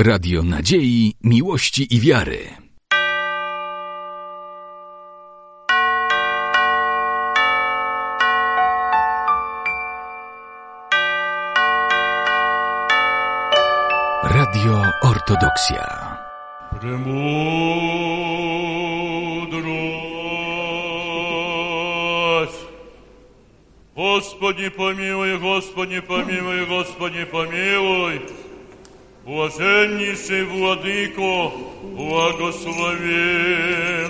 Radio Nadziei, Miłości i Wiary. Radio Ortodoksja. Премудрость. Господи помилуй, Господи помилуй, Господи помилуй. Блаженнейший Владыко, благослови.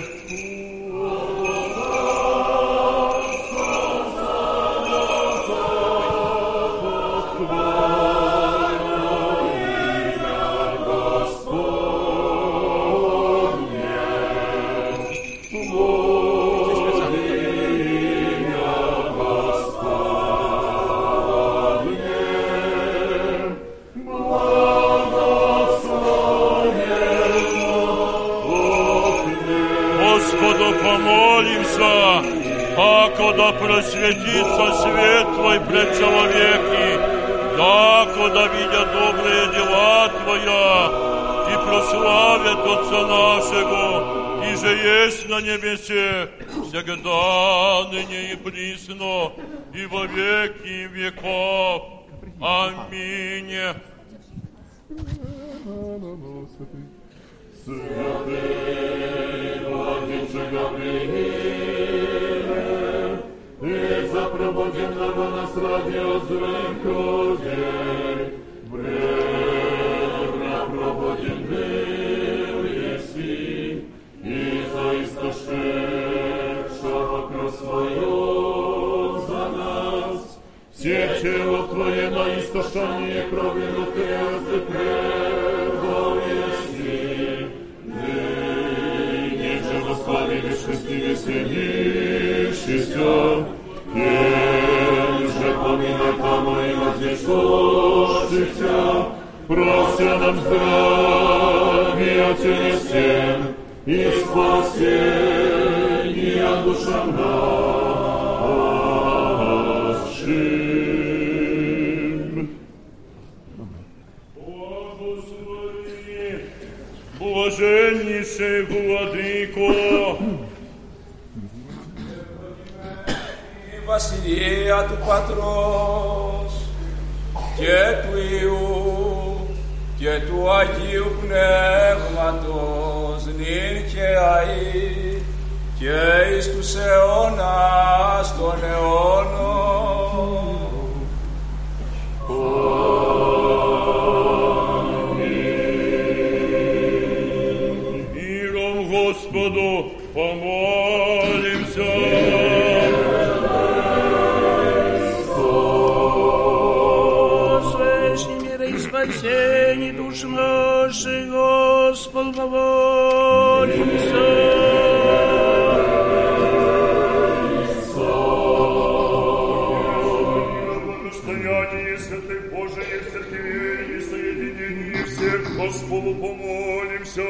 Да просветится свет Твой пред человеки, дакуда видят добрые дела Твоя, и прославят Отца нашего, и же есть на небесе, всегда, ныне и присно, и во веки веков. Аминь. Святый Владимир Гавриил, и запробуденного нас радио звонкой, время пробуден был еси, и за истошедшего кровь свою за нас, все чело Твое на истошание крови внутри пребыл еси, ныне же восслави вечности веселищися, Тем же поминай тому и возвещущихся, прося нам здравия телесен и спасения душам нашим. Благослови, блаженнейший Владыко, Βασιλεία του Πατρός και του Υιού και του Αγίου Πνεύματος νυν και αεί και εις τους αιώνας των αιώνων. Аминь. Миром Господу помолимся. Спасение душ наших, Господь, помолимся. Благостояние святых Божиих церквей и соединение всех, Господу помолимся.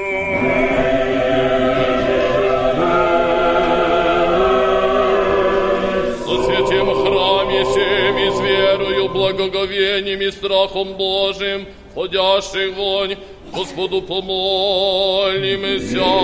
О святем храме сем и с верою, благоговением и страхом Божиим, ходящих вонь, Господу помолимся.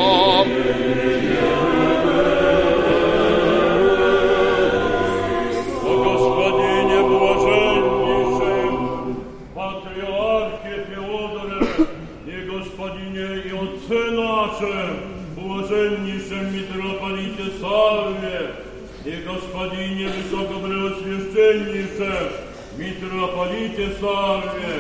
О Господине блаженнейшем, Патриархе Феодоре и Господине и Отце нашем, блаженнейшем митрополите Савве и Господине высокопреосвященнейшем митрополите Савве,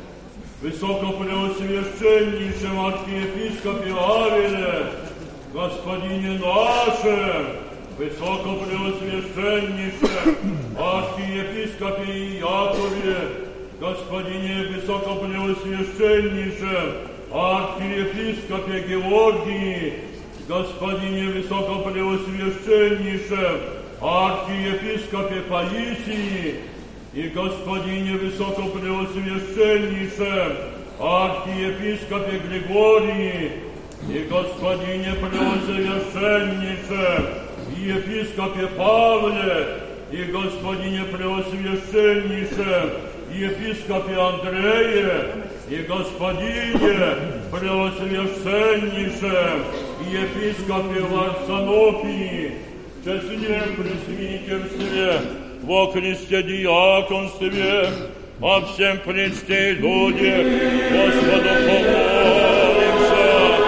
высокопреосвященнейшем архиепископе Авеле, Господине нашем, высокопреосвященнейшем архиепископе Иакове, Господине высокопреосвященнейшем архиепископе Георгии, Господине высокопреосвященнейшем архиепископе Паисии и Господине высокопреосвященнейшем архиепископе Григории и Господине преосвященнейшем епископе Павле и Господине преосвященнейшем епископе Андрее и господине преосвященнейшем, епископе Варсанопии, честне пресвитерстве, во Христе диаконстве, о всем пречте люде, Господу помолимся.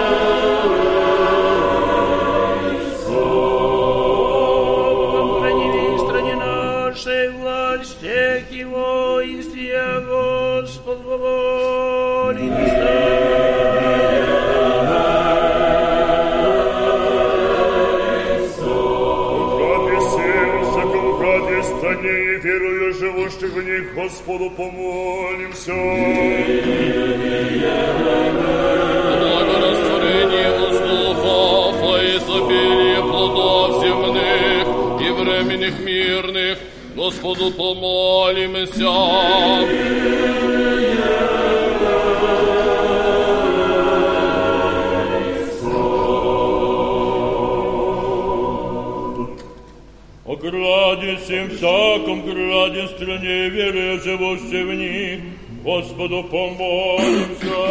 Властях его истия, Господь, помолимся. Укропи сердце, укропи стране, и верую живущих в них, Господу помолимся. Благорастворение воздухов, и изобилие плодов земных и временных мирных, Господу помолимся. О граде всем всяком граде, стране веры, живущей в них, Господу помолимся.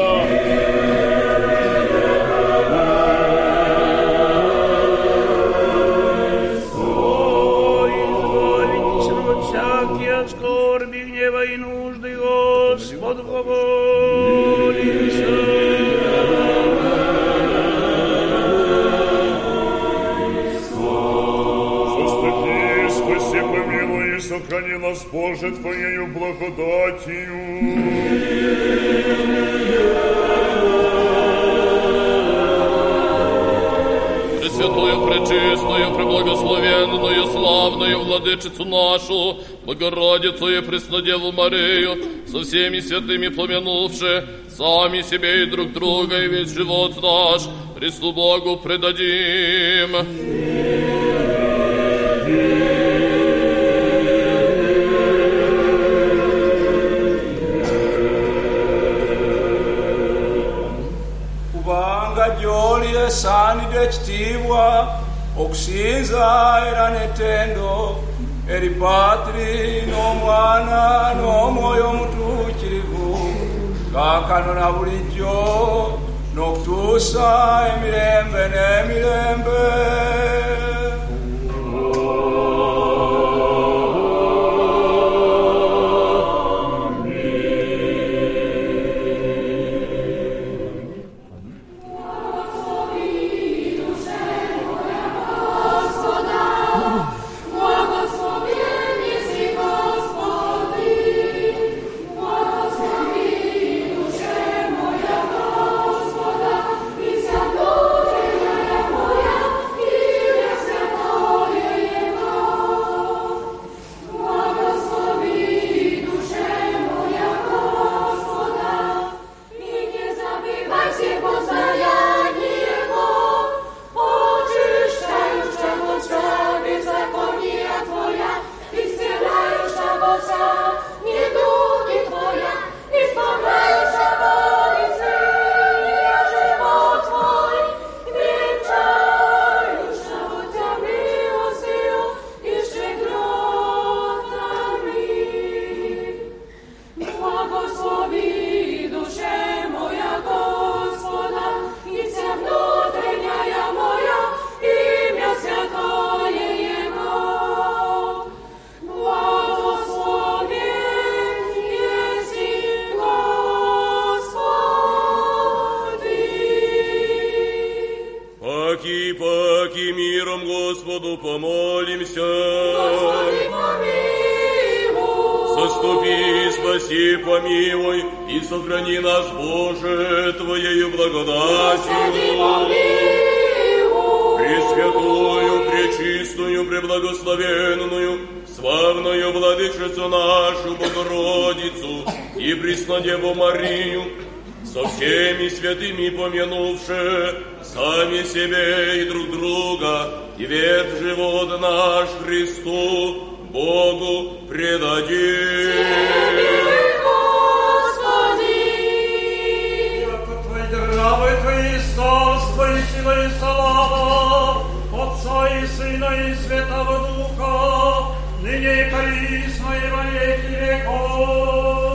Всякие от скорби, гнева и нужды, Господу помолимся. Заступи, спаси, помилуй и сохрани нас, Боже, Твоею благодатью. Пресвятую, пречистую, преблагословенную, славную владычицу нашу, Богородицу и Преснодеву Марию, со всеми святыми помянувши, сами себе и друг друга, и весь живот наш Христу Богу предадим. Gyoli esani dekitiibwa okusinza era n'ettendo eri Patri n'Omwana n'Omwoyo Omutuukirivu kaakano na bulijjo n'okutuusa emirembe n'emirembe. Деву Марию, со всеми святыми помянувши, сами себе и друг друга, и век живот наш Христу, Богу предадим. Яко Твои дравы, Твои царство и сила и слава, Отца и Сына и Святого Духа, ныне и присно и во веки веков.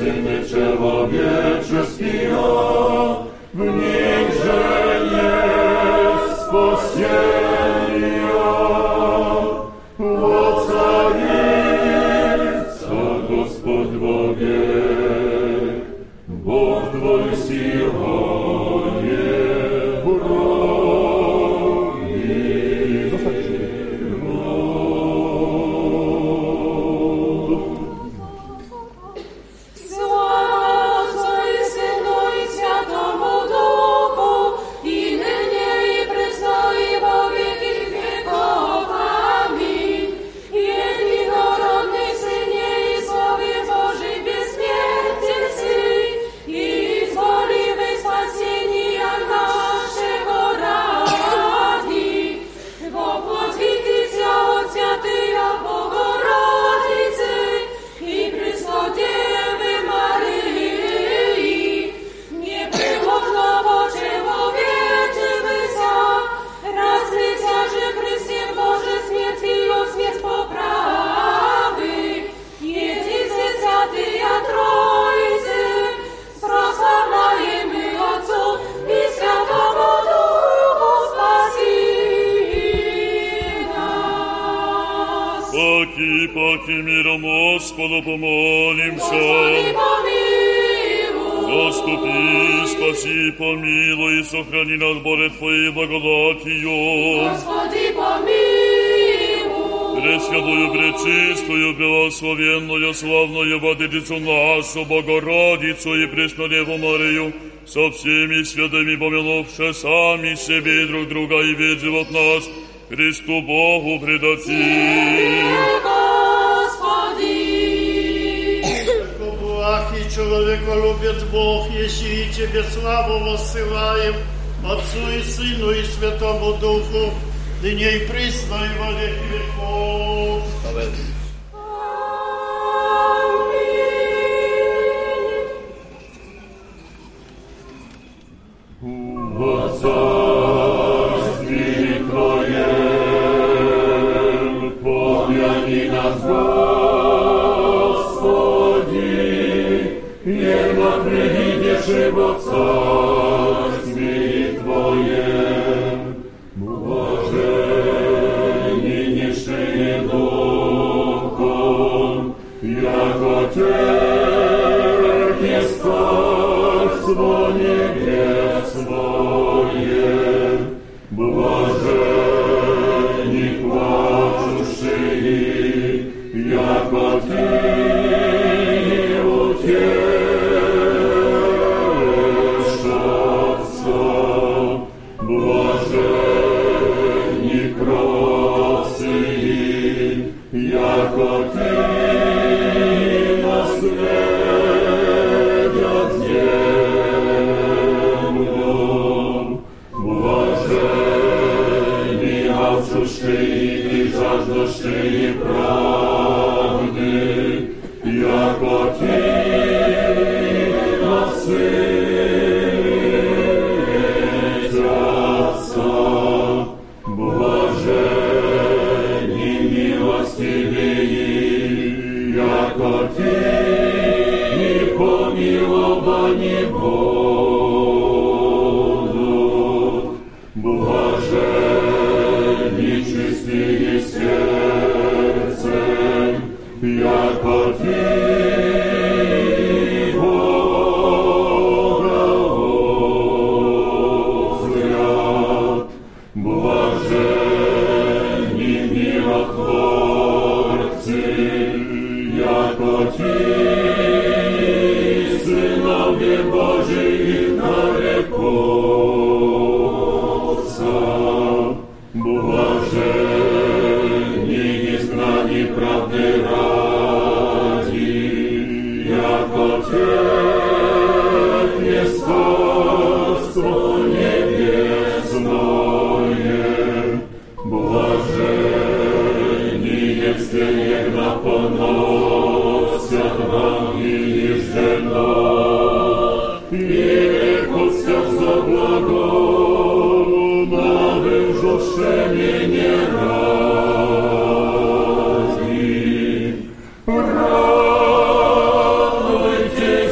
Syny człowieczeskiego, w niechże jest spasienia. Ocalica Gospod Bogie, Bóg Twój Sionie broni. Паки миром Господу помолимся. Заступи, спаси, помилуй и сохрани нас, Боже, Твоей благодатью. Господи, помилуй. Пресвятую, пречистую, благословенную, славную Владычицу нашу, Богородицу и Преснодеву Марию, со всеми святыми помянувши сами себе и друг друга, и весь живот наш Христу Богу предадим. Благ и человеколюбец Бог, еси и Тебе славу воссылаем, Отцу и Сыну и Святому Духу, ныне и присно и во веки веков. Во царстве Твоем помяни нас, Господи, верно придешь и во царстве Твоем, блаженнейший Духом, яко Тебе царство небесное, блаженни плачущие, яко Ты утешатся, блаженни кротцые, яко Ты наследят землю, блаженни алчущие и жаждущие правды, яко Ты насытятся, блаженни милостивые, яко Ты помиловани будут, блаженни чистые сердцем, яко Ты Бога узрят, блаженни миротворцы, яко Ты сыновья Божии нарекутся, блаженни изгнани правды ради, яко Тебе царство небесное, блаженни всегда поносят ранги ежедно, и рекутся за благо, навыжуше меня ради. Радуйте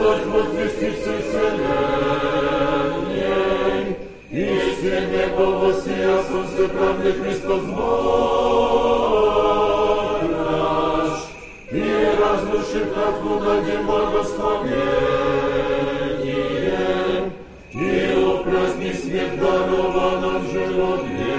голос возвести всей вселенной, истинный повосия солнце правды Христос Бог наш, и разрушив татку дадим благословение, и упраздни свет дарованным живот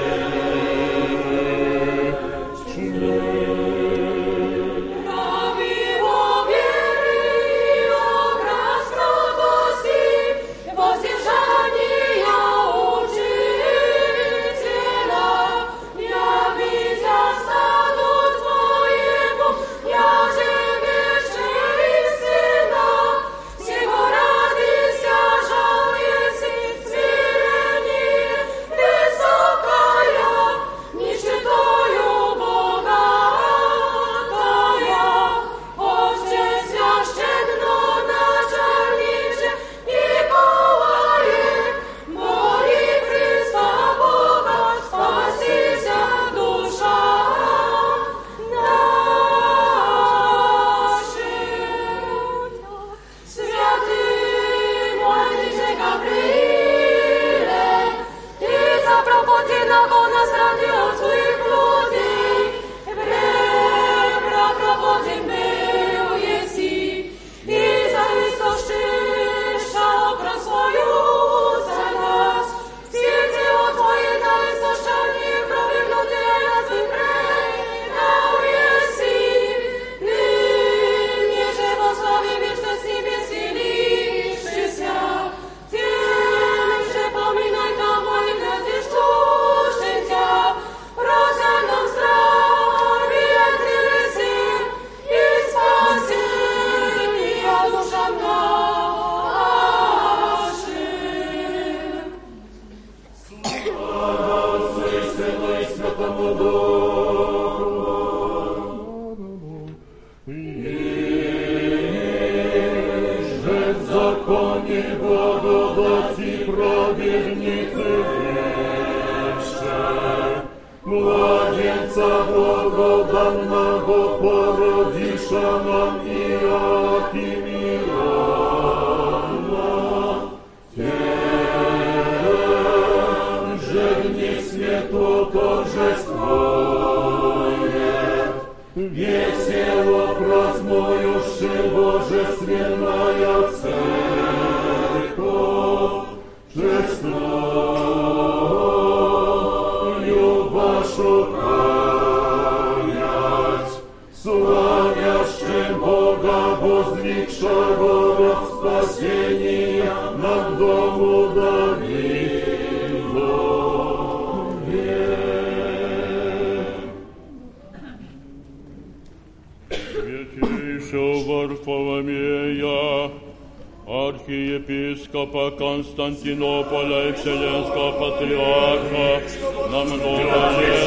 архиепископа Константинополя и Вселенского патриарха на много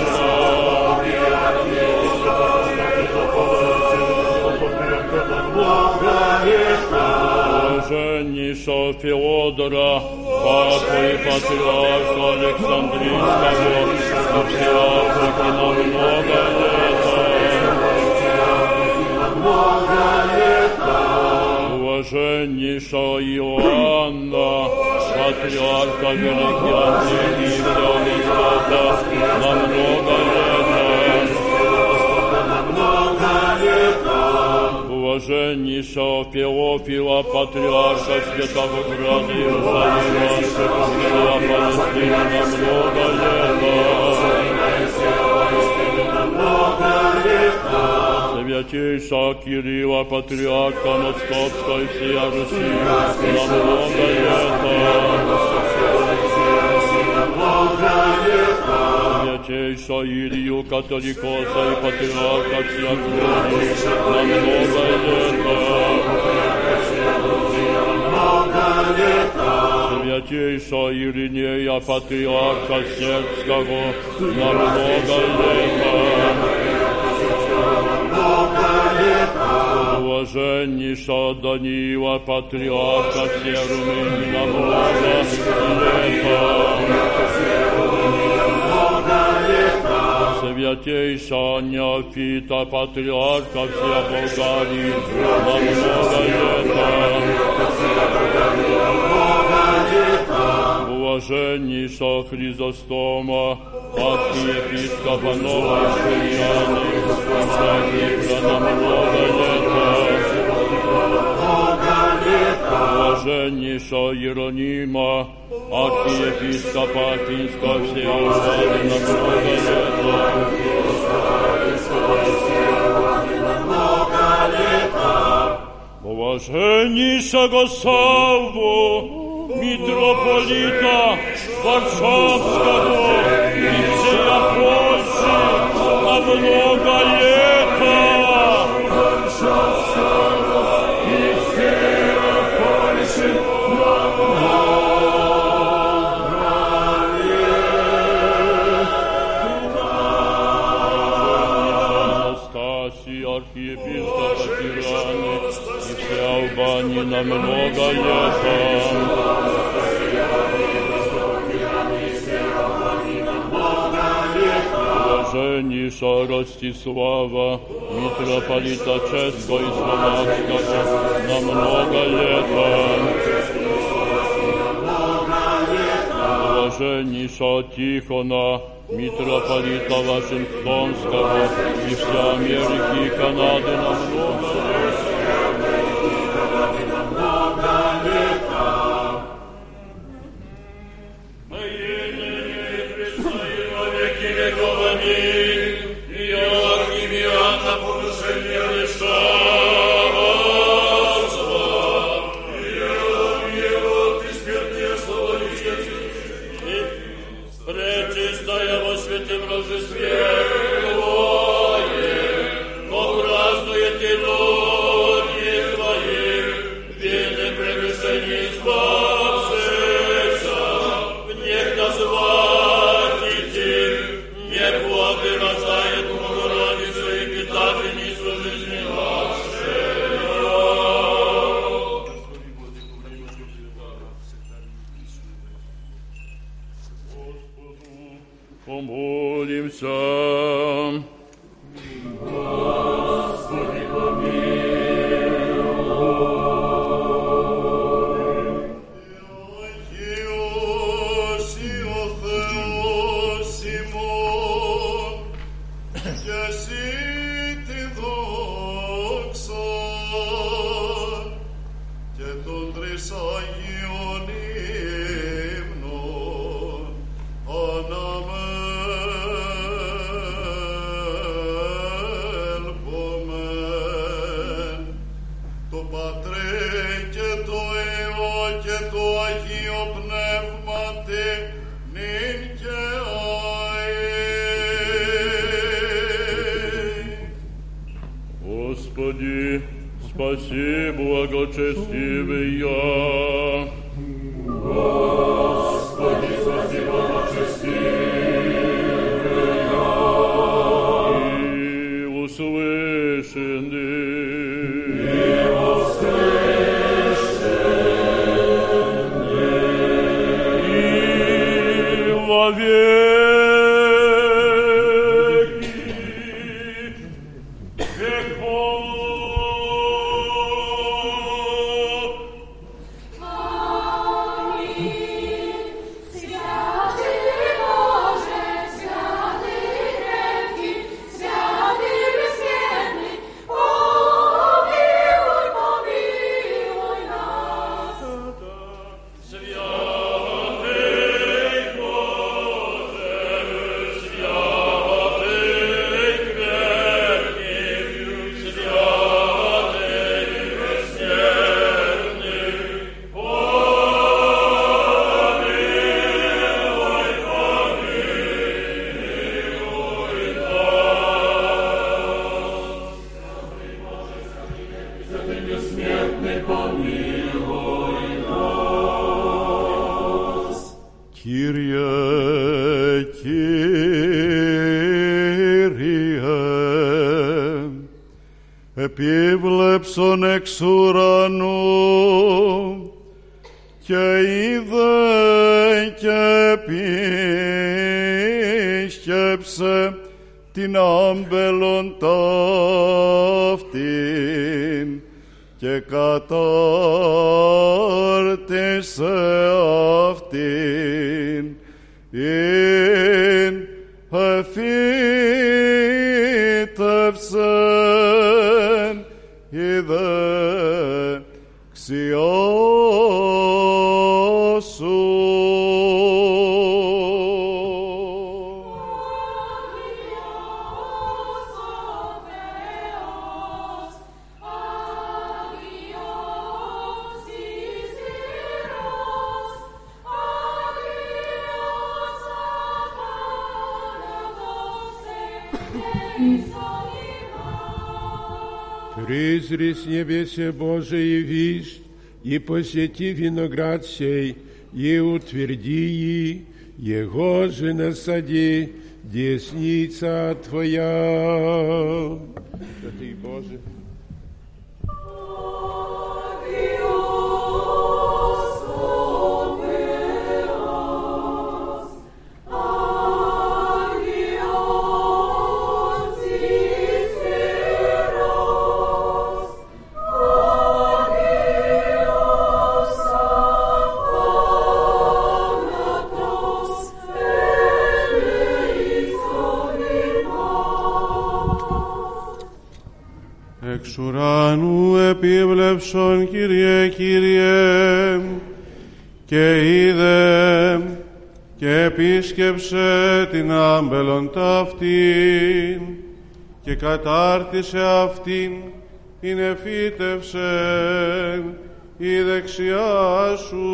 лет. Блаженнейшего Феодора, папу и патриарха Александрийского, и все Африки на много лет. Блаженнейшего Иоанна, патриарха Великий Андрей и Всевостока, на много лет. Блаженнейшего Феофила, патриарха Святого Града Иерусалима, всего Палестины, на много лет. Святейшего Кирилла, патриарха Московской и всея Руси, на много лет. Святейшего Илью, католикоса и патриарха всех людей, на много лет. Святейшего Иринея, патриарха Сербского, на много лет. Блаженнейшего Даниила, патриарха всех Румынии, на много лет. Святейшего Неофита, патриарха всех Болгарии, на много лет. Блаженнейша Хризостома, архиепископа Новой Шияны, Господи, на много лета. Блаженнейша Иеронима, архиепископа Афинского всея Албании, на много лета. Блаженнейшего Савву, митрополита Варшавского и всея Польши на много лета. Варшавского и всея Польши на много лета. Анастасий, архиепископа Тираны и всея Албании на много лета. Блаженнейша Ростислава, митрополита Ческого и Словацкого, на много лета. Блаженнейша Тихона, митрополита Вашингтонского и вся Америки и Канады, на много лета. Господи, спаси благочестивый я. Господи, спаси благочестивый я. И услышанный. И услышанный. И вовек. Επίβλεψον εξ ουρανού και είδε και επίσκεψε την άμπελον ταύτην και κατάρτισε αυτήν. Призри с небесе Божие вишь, и посети виноград сей, и утверди, его же насади, десница Твоя. Святый Боже, εξ ουρανού επίβλεψον, Κύριε, Κύριε, και είδε και επίσκεψε την άμπελον ταύτην και κατάρτισε αυτήν, είναι φύτευσεν η δεξιά σου.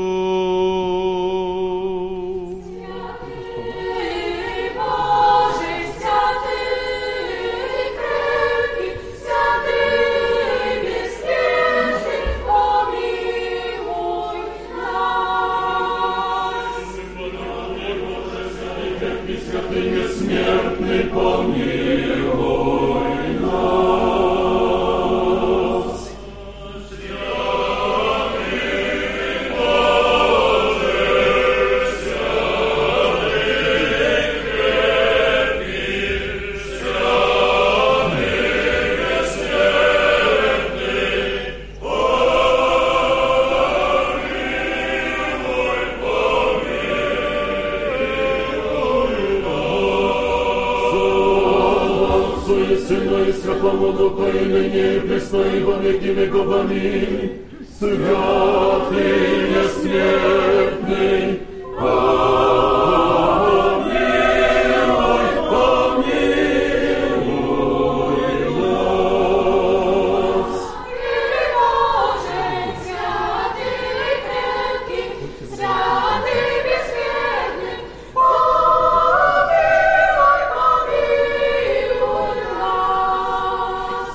Святый бессмертный, помилуй, помилуй нас. Боже, святый крепкий, святый бессмертный, помилуй, помилуй нас.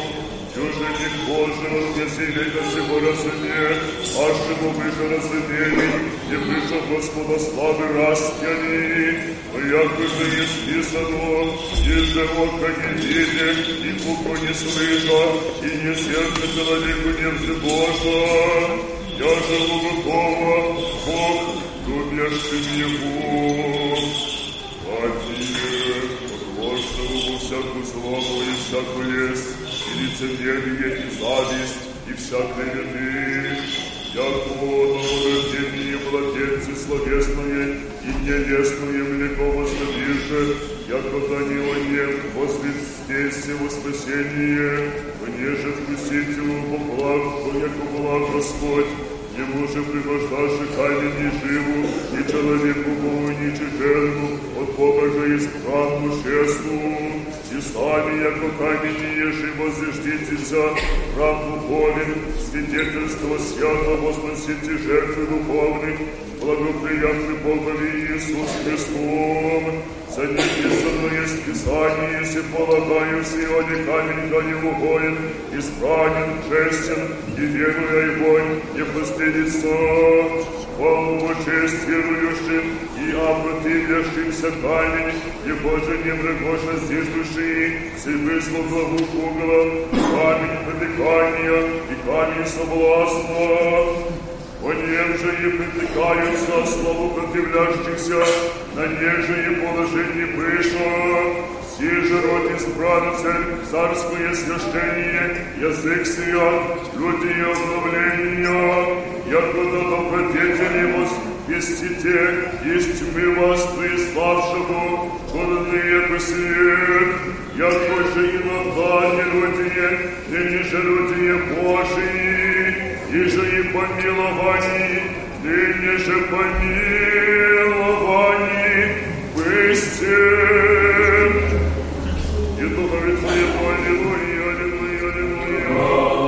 Боже, вознеси века сего разуме, аж ему выше разумели, и пришел Господа славы растяни, яко же не списано, и же око не видит, и ухо не слыша, и не сердце человеку не взбожа. Я живу готова, Бог, любящим Его. Один, подложного во всякую славу и всякую лесть, и лицемерие, и зависть, и всякой вины. Яко новорождение младенцы словесное и нелестное млеко воздвиже, яко Данила нет возвестие во спасение, понеже вкусить его поблаг, яко благ Господь, не може пригождаши камень живу, ни человеку Богу, ни чужему, от Бога же избранну шесту, и сами, яко камень ежи возждитеся, храм духовен, свидетельство свято возносите жертвы духовных, благоприятный Богови Иисус Христом. За неписано есть Писание, если полагаю, в Сионе камень да не угоен, избранен, честен, и веруя его не постыдится. Хвалу честь верующим и опротивлящимся камень, его же не врагоша здесь души, си выслал главу угла, камень притыкания и камень соблазна. По нем же и притыкаются славу противлящихся, на них же и положение выше. Все же род избранцель, царское священие, язык сия, люди и обновления, якуда добродетели возвестите, из тьмы вас приславшего, чудные по свет, яко же иногда неродие, ныне родие Божии, и же и помиловании, ныне же помиловании, бысте. И духове Твоему, аллилуйя, аллилуйя, аллилуйя.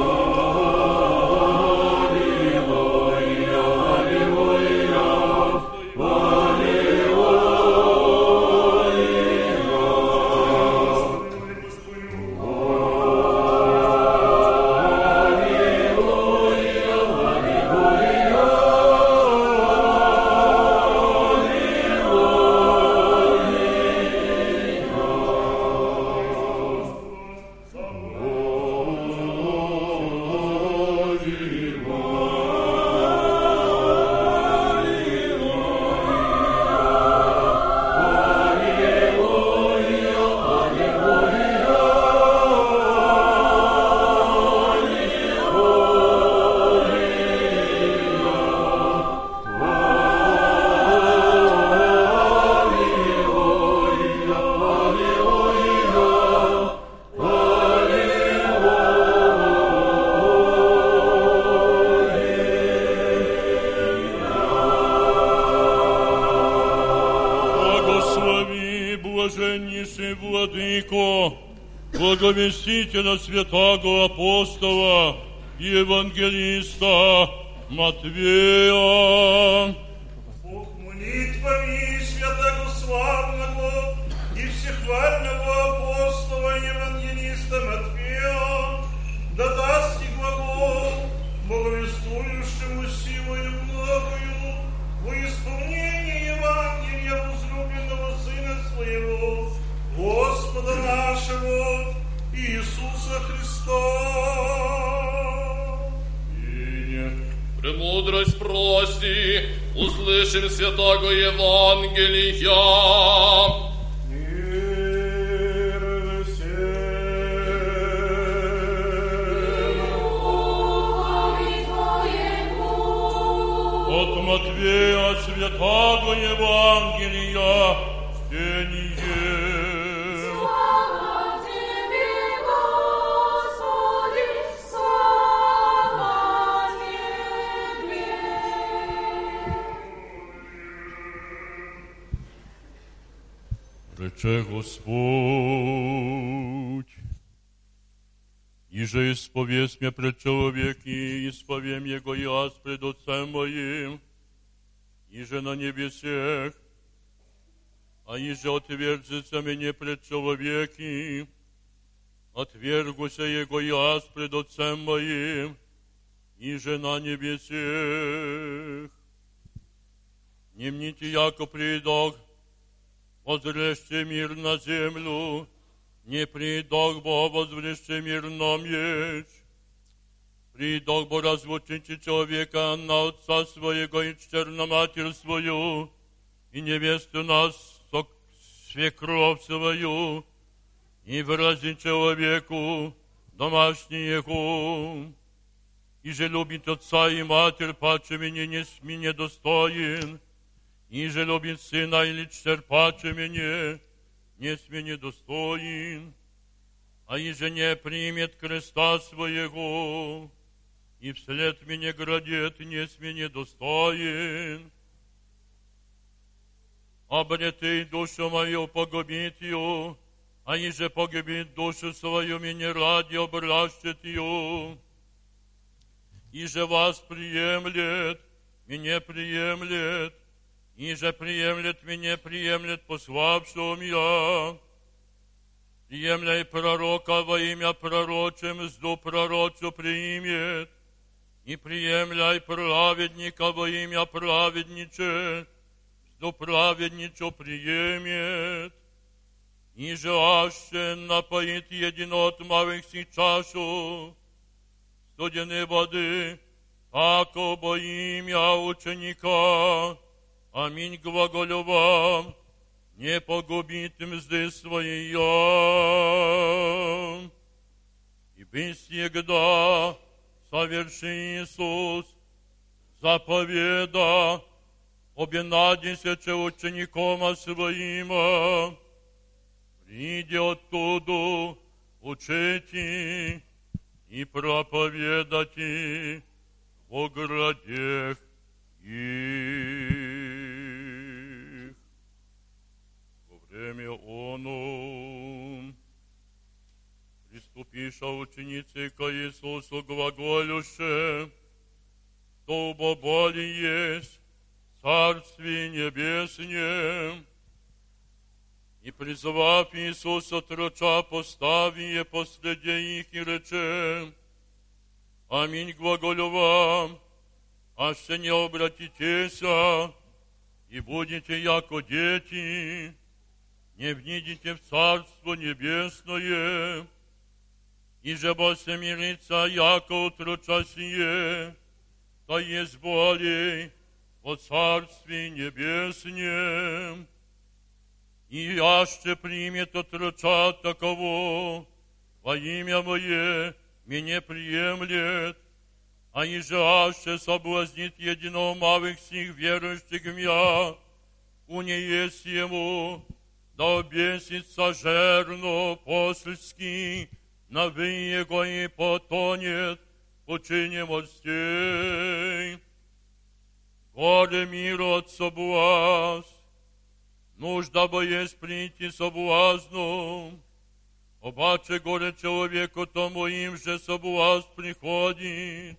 Благовестителя святаго апостола и евангелиста Матвея. Бог молитвами святаго славного и всехвального апостола и евангелиста Матвея да даст и глагол, благовествующему силою многою во исполнение Евангелия возлюбленного Сына Своего, Господа нашего Иисуса Христа. Премудрость прости, услышим святаго Евангелия. От Матвея святаго Евангелия чтение. Рече Господь, иже исповесть мне пред человеки, исповем Его я пред Отцем моим, иже на небесех, а иже отвержется мне пред человеки, отвергуся Его я пред Отцем моим, иже на небесех. не мните, яко придох, возврежьте мир на землю, не придох бо возврежьте мир на меч. Придох бо разлучите человека на отца своего и чтер на матерь свою, и невесту на свекровь свою, и выразить человеку домашнего. И же любит отца и матерь, паче меня не недостоин, и же любит сына или чтер, паче меня не недостоин, а и же не примет креста своего, и вслед меня градет, не недостоин. Обретей душу мою, погубит ее, а и же погубит душу свою, меня ради обращет ее. И же вас приемлет, меня приемлет, и же приемлет, меня приемлет, пославшим я. Приемляй пророка во имя пророче, мзду пророчу примет, и приемляй праведника во имя праведниче, мзду праведничу приемет. И же аще напоит единот малых си чашу, студеной воды, ако во имя ученика. Аминь, глаголю вам, не погубит мзды своей. И всегда соверши Иисус заповеда, обенадися учеником своим, приди оттуда, учите и проповедати во градех их. Во время оно приступиша ученицы ко Иисусу глаголюше, что более есть Царствие Небесное, и призвав Иисуса троча, поставие последе их и рече: Аминь, глаголю вам, аще не обратитеся, и будете яко дети, не внидите в Царство Небесное, и же бо се мирится, яко утроча сие, то есть более о Царстве Небесном. И аще примет отроча таково, во имя Мое меня приемлет, а иже аще соблазнит единого малых сих верующих в Мя, уне есть ему, да обесится жерно посльски, навы его и потонет в пучине морстей. Горе миру от соблазн, нужда бы есть прийти соблазну, обаче горе человеку тому им же соблазн приходит.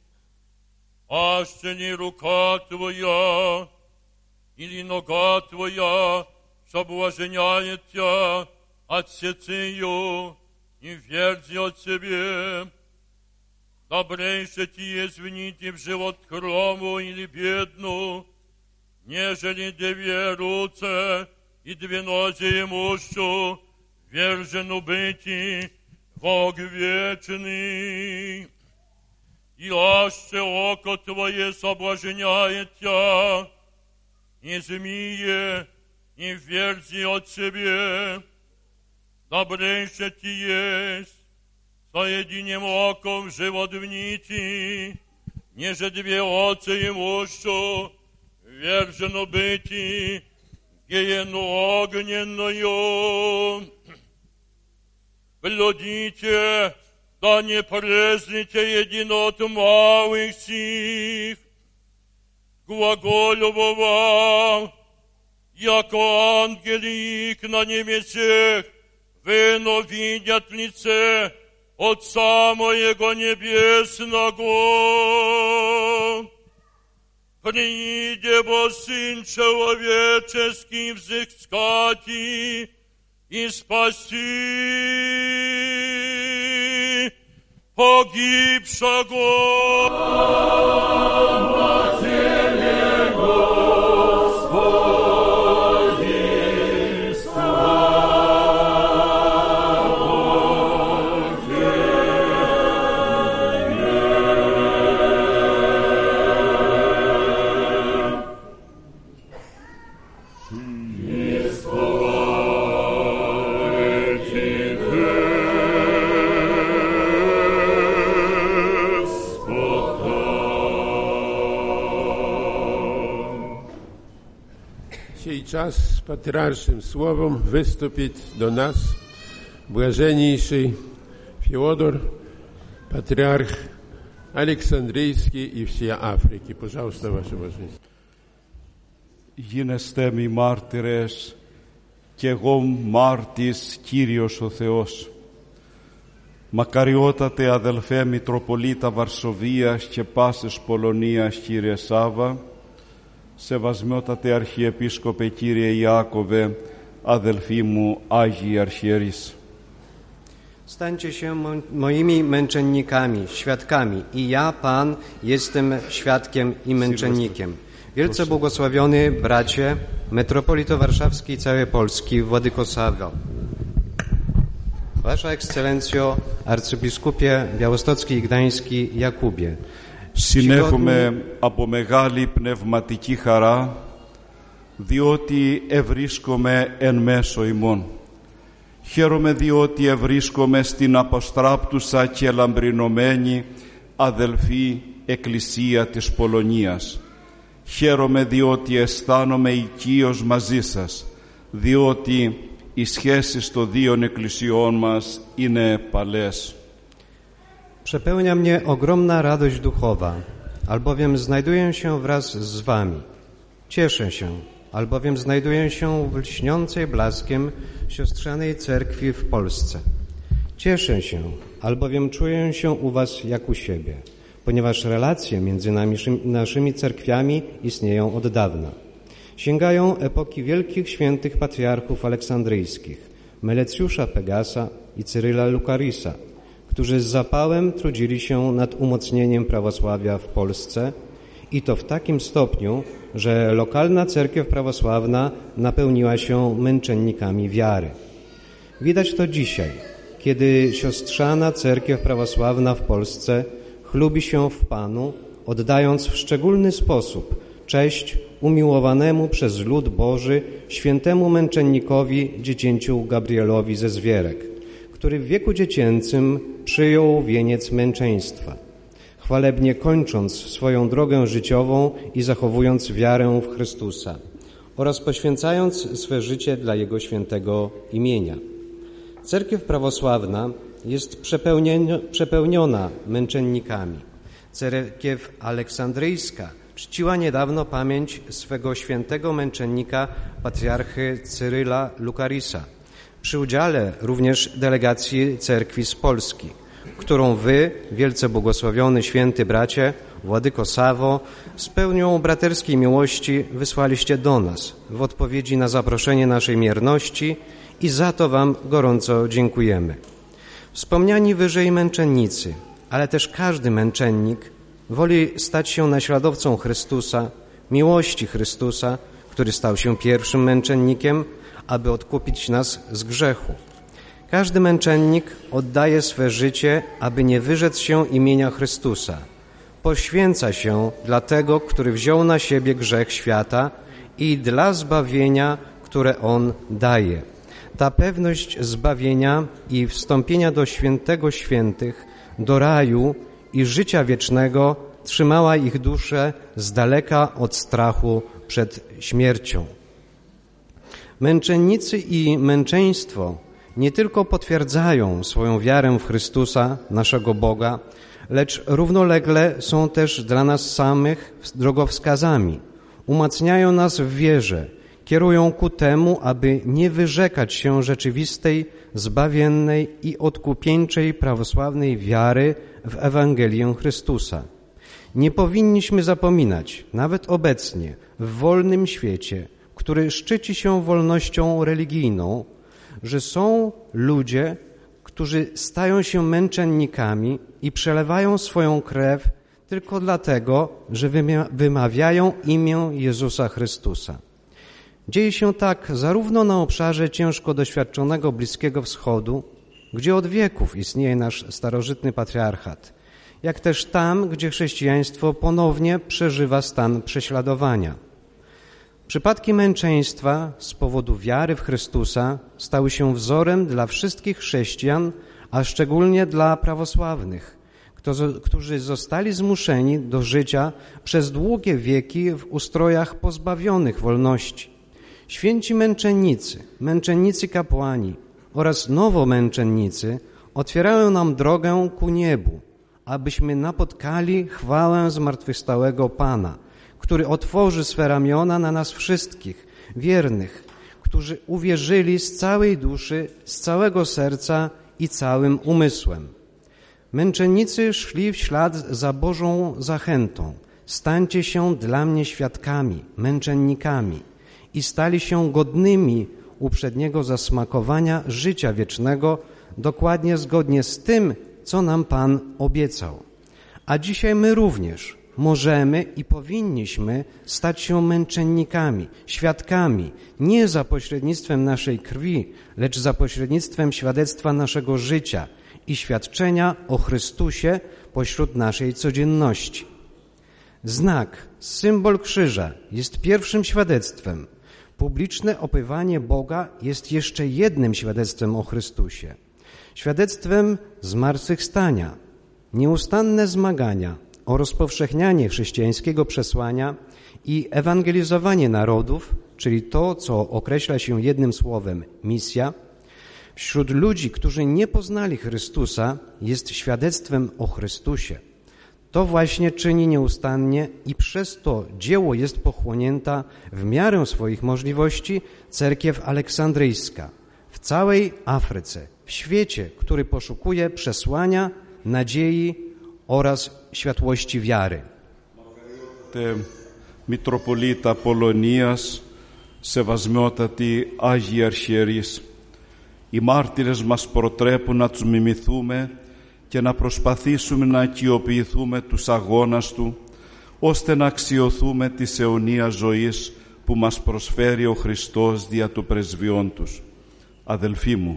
Аще не рука твоя или нога твоя соблазняет тебя, отсецы ее и верзи от себе. Добрейше ти извините в живот хрому или бедну, нежели две руце и две нози имущу, вержену быти в ог вечный. И аще око твое соблазняет тебя, и змие, и верзи от себе. Добрейше ти есть соединим оком живот в нити, неже две отцы имущу, вержену быти гиену огненную. Глядите, да не презрите единот малых сих, глаголю вам, яко ангели их на небесех, вино видят лице Отца Моего Небесного. Прииде бо Сын Человеческий взыскати и спаси погибшего. Тебе, Господь! dzisiaj czas z patriarszym słowem wystąpić do nas błażeniejszy Fiodor, patriarch Aleksandryjski i всей Afryki. Пожалуйста, ваше божество. Γίνεστε μοι μάρτυρες κι εγώ μάρτης Κύριος ο Θεός. Μακαριότατε αδελφέ Μητροπολίτα Βαρσοβίας και πάσης Πολωνίας Κύριε Σάβα, σεβασμιότατε Αρχιεπίσκοπε Κύριε Ιάκωβε, αδελφοί μου Άγιοι Αρχιερείς. Stańcie się moimi męczennikami, świadkami i ja, Pan, jestem świadkiem i męczennikiem. Wielce błogosławiony bracie, metropolito warszawski i całej Polski, Władyko Sawo. Wasza Ekscelencjo, arcybiskupie białostocki i gdański Jakubie. Συνέχομαι από μεγάλη πνευματική χαρά, διότι ευρίσκομαι εν μέσω ημών. Χαίρομαι διότι ευρίσκομαι στην αποστράπτουσα και λαμπρινωμένη αδελφή Εκκλησία της Πολωνίας. Χαίρομαι διότι αισθάνομαι οικείος μαζί σας, διότι οι σχέσεις των δύο εκκλησιών μας είναι παλές. Przepełnia mnie ogromna radość duchowa, albowiem znajduję się wraz z wami. Cieszę się, albowiem znajduję się w lśniącej blaskiem siostrzanej cerkwi w Polsce. Cieszę się, albowiem czuję się u was jak u siebie, ponieważ relacje między naszymi cerkwiami istnieją od dawna. Sięgają epoki wielkich świętych patriarchów aleksandryjskich, Melecjusza Pegasa i Cyryla Lukarisa, którzy z zapałem trudzili się nad umocnieniem prawosławia w Polsce i to w takim stopniu, że lokalna cerkiew prawosławna napełniła się męczennikami wiary. Widać to dzisiaj, kiedy siostrzana cerkiew prawosławna w Polsce chlubi się w Panu, oddając w szczególny sposób cześć umiłowanemu przez lud Boży świętemu męczennikowi dziecięciu Gabrielowi ze Zwierek, który w wieku dziecięcym przyjął wieniec męczeństwa, chwalebnie kończąc swoją drogę życiową i zachowując wiarę w Chrystusa oraz poświęcając swe życie dla Jego świętego imienia. Cerkiew prawosławna jest przepełniona męczennikami. Cerkiew aleksandryjska czciła niedawno pamięć swego świętego męczennika, patriarchy Cyryla Lukarisa, przy udziale również delegacji cerkwi z Polski, którą wy, wielce błogosławiony święty bracie, Władyko Sawo, z pełnią braterskiej miłości wysłaliście do nas w odpowiedzi na zaproszenie naszej mierności i za to wam gorąco dziękujemy. Wspomniani wyżej męczennicy, ale też każdy męczennik woli stać się naśladowcą Chrystusa, miłości Chrystusa, który stał się pierwszym męczennikiem, aby odkupić nas z grzechu. Każdy męczennik oddaje swe życie, aby nie wyrzec się imienia Chrystusa. Poświęca się dla tego, który wziął na siebie grzech świata i dla zbawienia, które On daje. Ta pewność zbawienia i wstąpienia do świętego świętych, do raju i życia wiecznego trzymała ich duszę z daleka od strachu przed śmiercią. Męczennicy i męczeństwo nie tylko potwierdzają swoją wiarę w Chrystusa, naszego Boga, lecz równolegle są też dla nas samych drogowskazami. Umacniają nas w wierze, kierują ku temu, aby nie wyrzekać się rzeczywistej, zbawiennej i odkupieńczej prawosławnej wiary w Ewangelię Chrystusa. Nie powinniśmy zapominać, nawet obecnie, w wolnym świecie, który szczyci się wolnością religijną, że są ludzie, którzy stają się męczennikami i przelewają swoją krew tylko dlatego, że wymawiają imię Jezusa Chrystusa. Dzieje się tak zarówno na obszarze ciężko doświadczonego Bliskiego Wschodu, gdzie od wieków istnieje nasz starożytny patriarchat, jak też tam, gdzie chrześcijaństwo ponownie przeżywa stan prześladowania. Przypadki męczeństwa z powodu wiary w Chrystusa stały się wzorem dla wszystkich chrześcijan, a szczególnie dla prawosławnych, którzy zostali zmuszeni do życia przez długie wieki w ustrojach pozbawionych wolności. Święci męczennicy kapłani oraz nowomęczennicy otwierają nam drogę ku niebu, abyśmy napotkali chwałę zmartwychwstałego Pana, który otworzy swe ramiona na nas wszystkich, wiernych, którzy uwierzyli z całej duszy, z całego serca i całym umysłem. Męczennicy szli w ślad za Bożą zachętą. Stańcie się dla mnie świadkami, męczennikami i stali się godnymi uprzedniego zasmakowania życia wiecznego, dokładnie zgodnie z tym, co nam Pan obiecał. A dzisiaj my również możemy i powinniśmy stać się męczennikami, świadkami, nie za pośrednictwem naszej krwi, lecz za pośrednictwem świadectwa naszego życia i świadczenia o Chrystusie pośród naszej codzienności. Znak, symbol krzyża jest pierwszym świadectwem. Publiczne opiewanie Boga jest jeszcze jednym świadectwem o Chrystusie. Świadectwem zmartwychwstania, nieustanne zmagania o rozpowszechnianie chrześcijańskiego przesłania i ewangelizowanie narodów, czyli to, co określa się jednym słowem misja, wśród ludzi, którzy nie poznali Chrystusa, jest świadectwem o Chrystusie. To właśnie czyni nieustannie i przez to dzieło jest pochłonięta w miarę swoich możliwości cerkiew aleksandryjska w całej Afryce, w świecie, który poszukuje przesłania, nadziei oraz światłości wiary. Μητροπολίτα Πολωνίας, σεβασμιότατοι Άγιοι Αρχιερείς, οι μάρτυρες μας προτρέπουν να τους μιμηθούμε και να προσπαθήσουμε να οικειοποιηθούμε τους αγώνας Του, ώστε να αξιωθούμε της αιωνίας ζωής που μας προσφέρει ο Χριστός δια του πρεσβειών Τους. Αδελφοί μου,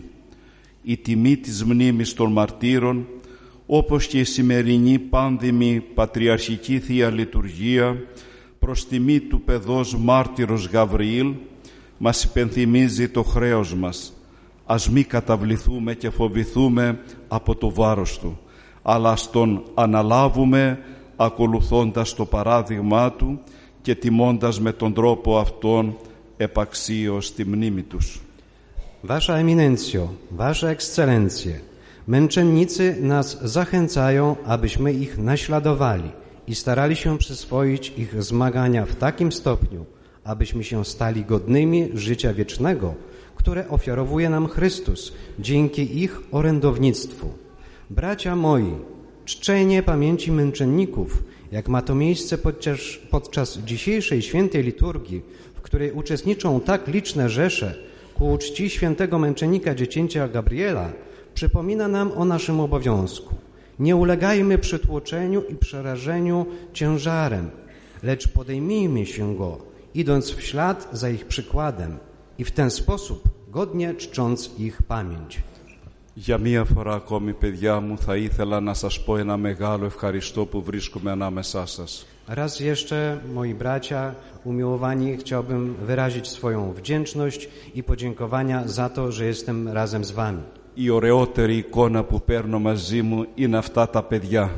η τιμή της μνήμης των μαρτύρων, όπως και η σημερινή πάνδημη πατριαρχική Θεία Λειτουργία, προς τιμή του παιδός μάρτυρος Γαβριήλ, μας υπενθυμίζει το χρέος μας. Ας μη καταβληθούμε και φοβηθούμε από το βάρος Του, αλλά ας Τον αναλάβουμε ακολουθώντας το παράδειγμά Του και τιμώντας με τον τρόπο αυτόν επαξίως τη μνήμη Τους. Wasza Eminencjo, Wasze Ekscelencje, męczennicy nas zachęcają, abyśmy ich naśladowali i starali się przyswoić ich zmagania w takim stopniu, abyśmy się stali godnymi życia wiecznego, które ofiarowuje nam Chrystus dzięki ich orędownictwu. Bracia moi, czczenie pamięci męczenników, jak ma to miejsce podczas dzisiejszej świętej liturgii, w której uczestniczą tak liczne rzesze ku czci świętego męczennika dziecięcia Gabriela, przypomina nam o naszym obowiązku. Nie ulegajmy przytłoczeniu i przerażeniu ciężarem, lecz podejmijmy się go, idąc w ślad za ich przykładem i w ten sposób godnie czcząc ich pamięć. Για μία φορά ακόμη, παιδιά μου, θα ήθελα να σας πω ένα μεγάλο ευχαριστώ που βρίσκομαι ανάμεσά σας. Raz jeszcze, moi bracia umiłowani, chciałbym wyrazić swoją wdzięczność i podziękowania za to, że jestem razem z wami. Η ωραιότερη εικόνα που παίρνω μαζί μου είναι αυτά τα παιδιά.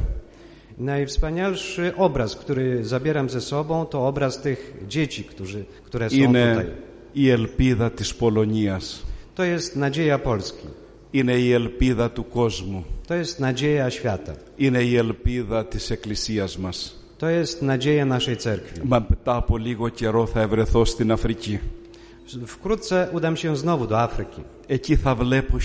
Najwspanialszy obraz, który zabieram ze sobą, to obraz tych dzieci, które są είναι tutaj. Η ελπίδα της Πολωνίας. To jest nadzieja Polski. Είναι η ελπίδα του κόσμου. To jest nadzieja świata. Είναι η ελπίδα της Εκκλησίας μας. To jest nadzieja naszej cerkwi. Μα μετά από λίγο καιρό θα ευρεθώ στην Αφρική. Wkrótce udam się znowu do Afryki. Εκεί θα βλέπω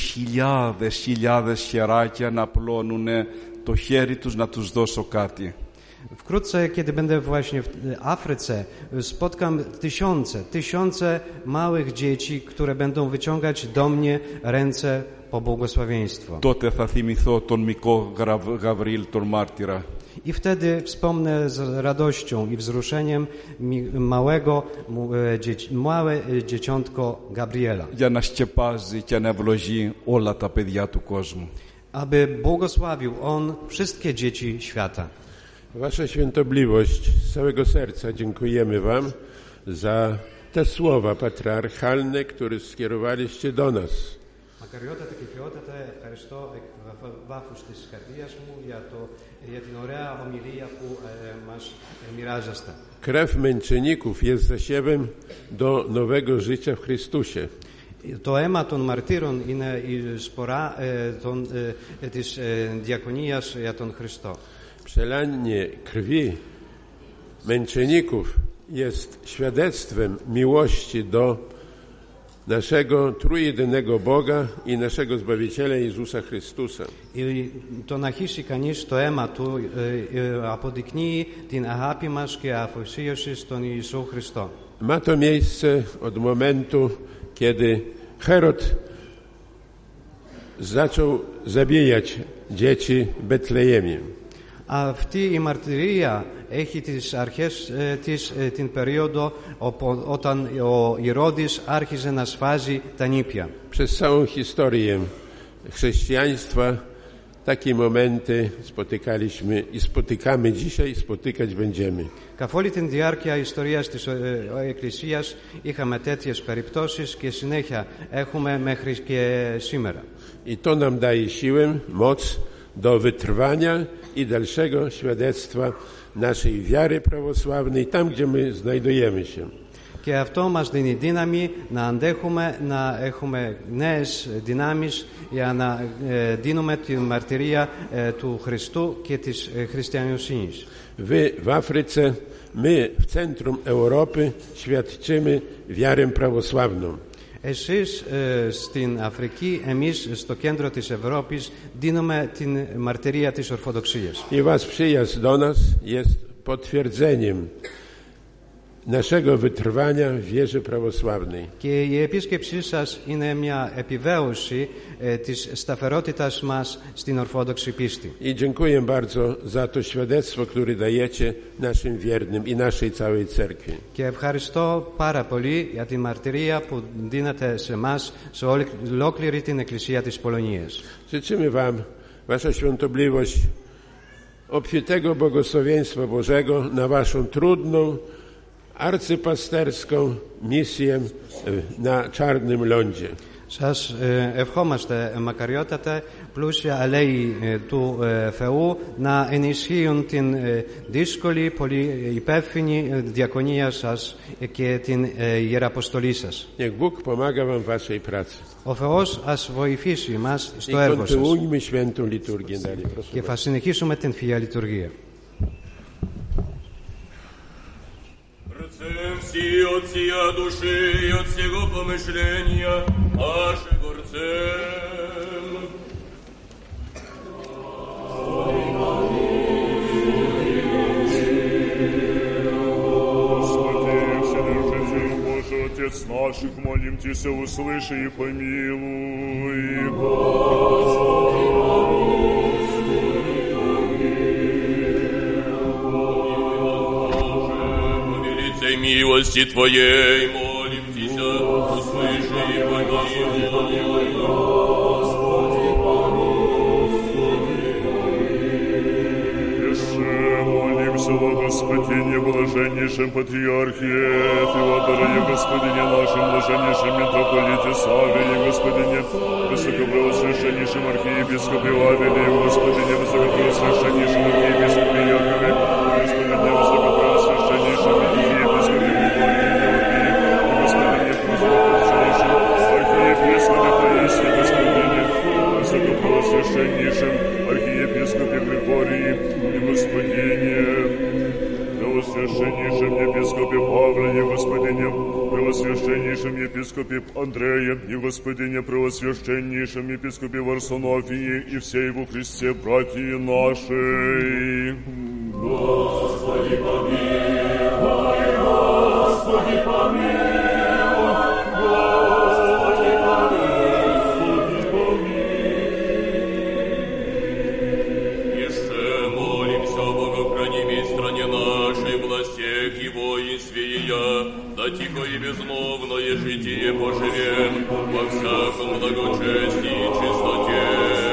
χιλιάδες χεράκια να πλώνουν το χέρι τους να τους δώσω κάτι. Wkrótce, kiedy będę właśnie w Afryce, spotkam tysiące małych dzieci, które będą wyciągać do mnie ręce po błogosławieństwo. Τότε θα θυμηθώ τον μικρό Γαβριήλ, τον μάρτυρα. I wtedy wspomnę z radością i wzruszeniem małe dzieciątko Gabriela. Για να σκεπάζει και να ευλογεί όλα τα παιδιά του κόσμου. Aby błogosławił on wszystkie dzieci świata. Wasza Świętobliwość, z całego serca dziękujemy Wam za te słowa patriarchalne, które skierowaliście do nas. Μακαριότατε και ποιότατε, ευχαριστώ εκ βάθους της καρδίας μου για την ωραία ομιλία που μας μοιράζεστε. Krew męczenników jest zasiewem do nowego życia w Chrystusie. Το αίμα των μαρτύρων είναι η σπορά της διακονίας για τον Χριστό. Przelanie krwi męczenników jest świadectwem miłości do naszego trójjedynego Boga i naszego Zbawiciela Jezusa Chrystusa. Το να χύσει κανείς το αίμα του αποδεικνύει την αγάπη μας και αφοσίωση στον Ιησού Χριστό. Ma to miejsce od momentu, kiedy Herod zaczął zabijać dzieci w Betlejemie. Αυτή η μαρτυρία έχει τις αρχές της την περίοδο όταν ο Ηρώδης άρχιζε να σφάζει τα νήπια. Przez całą historię chrześcijaństwa takie momenty spotykaliśmy i spotykamy dzisiaj i spotykać będziemy. Καθ' όλη την διάρκεια ιστορίας της Εκκλησίας είχαμε τέτοιες περιπτώσεις και συνέχεια έχουμε μέχρι και σήμερα. I to nam daje siłę, moc do wytrwania i dalszego świadectwa naszej wiary prawosławnej tam, gdzie my znajdujemy się. Και αυτό μας δίνει δύναμη να αντέχουμε, να έχουμε νέες δυνάμεις για να δίνουμε τη μαρτυρία του Χριστού και της χριστιανοσύνης. Wy w Afryce, my w centrum Europy świadczymy wiarę prawosławną. Εσείς στην Αφρική, εμείς στο κέντρο της Ευρώπης δίνουμε την μαρτυρία της Ορθοδοξίας. I wasz przyjazd do nas jest potwierdzeniem naszego wytrwania w wierze prawosławnej. Και η επίσκεψή σας είναι μια επιβεβαίωση της σταθερότητας μας στην Ορθόδοξη πίστη. I dziękuję bardzo za to świadectwo, które dajecie naszym wiernym i naszej całej cerkwi. Και ευχαριστώ πάρα πολύ για τη μαρτυρία που δίνετε σε εμάς, σε ολόκληρη την Εκκλησία της Πολωνίας. Życzymy wam, wasza świątobliwość, obfitego błogosławieństwa Bożego na waszą trudną, arcypasterską misję na czarnym lądzie. Σας ευχόμαστε μακαριότατα πλούσια αλέη του Θεού να ενισχύουν την δύσκολη, πολύ υπεύθυνη διακονία σας και την ιεραποστολή σας. Niech Bóg pomaga wam w waszej pracy. Ο Θεός ας βοηθήσει μας στο έργο σας. Kontynuujmy świętą liturgię dalej, proszę. Και θα συνεχίσουμε την Θεία Λειτουργία. Всі от сія души і от всього помишлення аж горцем. Святый Вседержитель Божий, Отец наших, молим Тебя, услыши и помилуй. Господи, милости Твоей, молим Тебя, услыши и помилуй. Господи, Еще молимся во Господине, блаженнейшем Патриархе Феодоре, и Господине нашем, блаженнейшем митрополите Савве, Господине высокопреосвященнейшем архиепископе Вавиле, Господине высокопреосвященнейшем архиепископе Якове, Господине высокопреосвященнейшем архиепископе Высокопреосвященнейшем архиепископе Григории и Господине, Преосвященнейшем епископе Павле и Господине, Преосвященнейшем епископе Андрея и Господине, Преосвященнейшем епископе Варсонофии и всей во Христе братья нашей. Господи, помилуй, Господи, помилуй. Да тихо и безмолвное житие поживем во всяком благочестии и чистоте.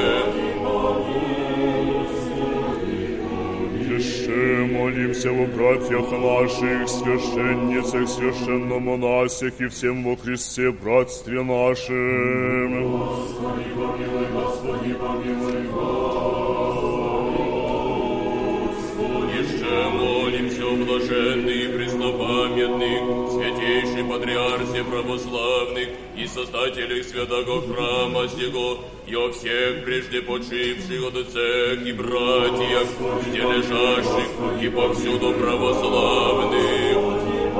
Еще молимся во братьях наших, священницах, священномонасях и всем во Христе братстве нашем. Господи, помилуй, Господи, помилуй, Еще молимся о блаженной и праведных, святейший патриарсе православных и создателей святого храма сего, и о всех прежде почивших отцах и братьях, где лежащих и повсюду православных.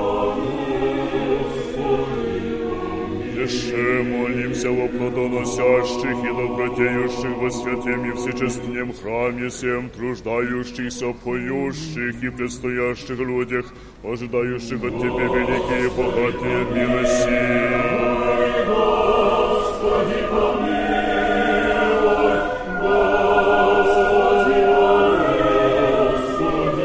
Еще молимся во плодоносящих и добродеющих во святем и всечестном храме всем, труждающихся, поющих и предстоящих людях, ожидающих от Тебя великие и богатые милости. Господи, помилуй, Господи, Господи,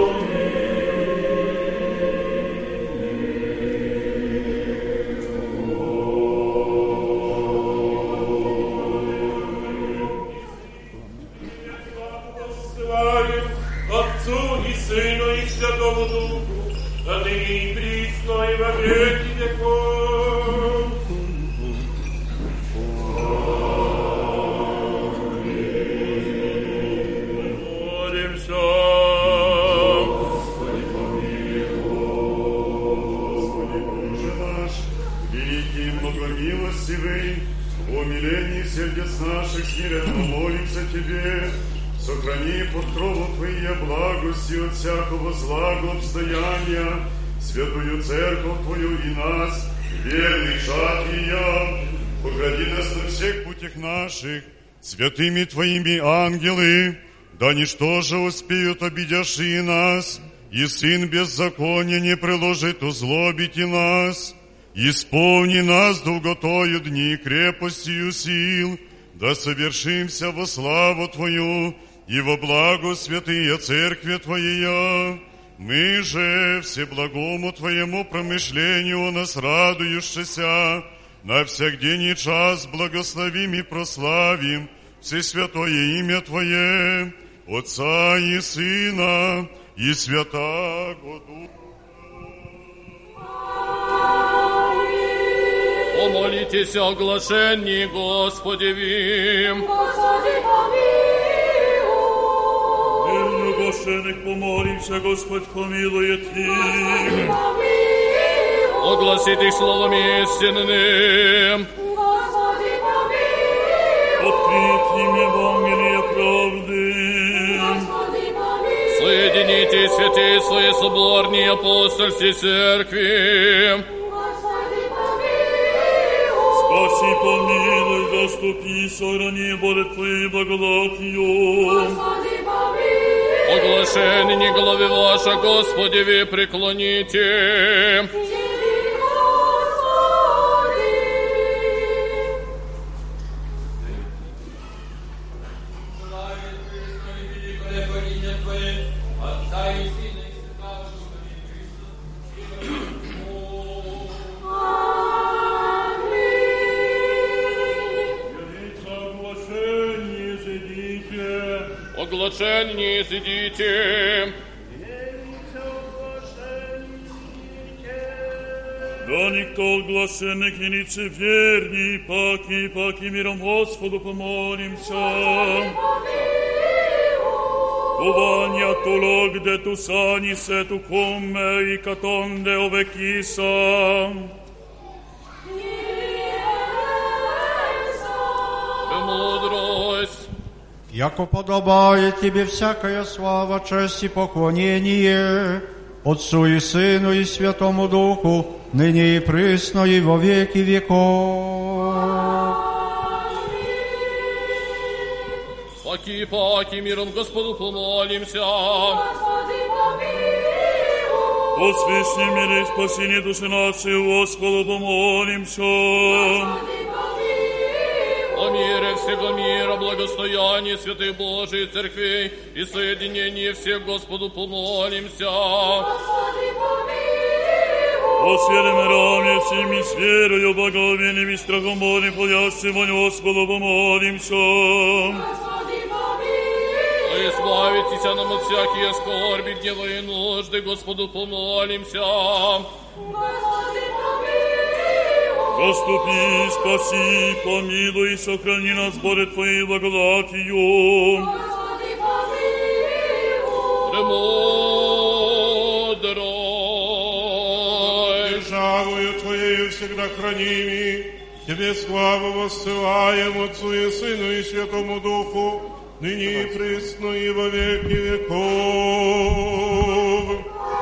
Отцу и Сыну и Святому Духу, ныне и присно и во веки веков. Молимся. Господи, помилуй, Господи, Боже наш, великий и многомилостивый, в умилении сердец наших смиренно молимся Тебе. Сохрани под кровом Твоей благости от всякого злого обстояния святую церковь Твою и нас, верных шат Ее. Погради нас на всех путях наших, святыми Твоими ангелы, да ничто же успеют обидяши нас, и сын беззакония не приложит узлобить и нас. Исполни нас долготою дни крепостью сил, да совершимся во славу Твою, и во благо святые церкви Твоя. Мы же всеблагому Твоему промышлению о нас радующийся, на всякдень час благословим и прославим всесвятое имя Твое, Отца и Сына и Святаго Духа. Помолитесь о оглашении Господевим. Господи, помилуй. Оглашенных помолимся, Господь помилует их. Огласить их словом истинным. Господи, помилуй. Открыть им Евангелие правды. Господи, помилуй. Соедините святые свои соборные апостольские церкви. Господи, помилуй. Спаси, помилуй, заступи, сохрани, Боже Твоей благодатью. Господи, помилуй. Оглашение главы ваша, Господеви, преклоните. Оглашение сидите. Да никто оглашенных и лицеверней, паки миром Господу помолимся. Uvania tu loc de tu sani se tu come i catonde ovechisa. Мудрость. Яко подобает Тебе всякая слава, честь и поклонение, Отцу и Сыну и Святому Духу, ныне и присно и во веки веков. Паки миром Господу помолимся. Господи, помилуй. О священной мире и спасении души нашей, Господу помолимся. Господи, помилуй. О мире всего мира, благостоянии святых Божией Церквей и соединении всех Господу помолимся. Господи, помилуй. О святом раме всеми с верою, благовением и страхом Божьим, ходящим во Господу помолимся. Господи, помилуй. Избавитесь нам от всякие скорби, гнева и нужды, Господу помолимся. Господи, помилуй. Заступи, спаси, помилуй и сохрани нас, Боже, Твоей благодатью. Господи, помилуй. Премудрость. Твоею всегда храними. Тебе славу воссылаем Отцу и Сыну и Святому Духу, ныне и присно и во веки веков.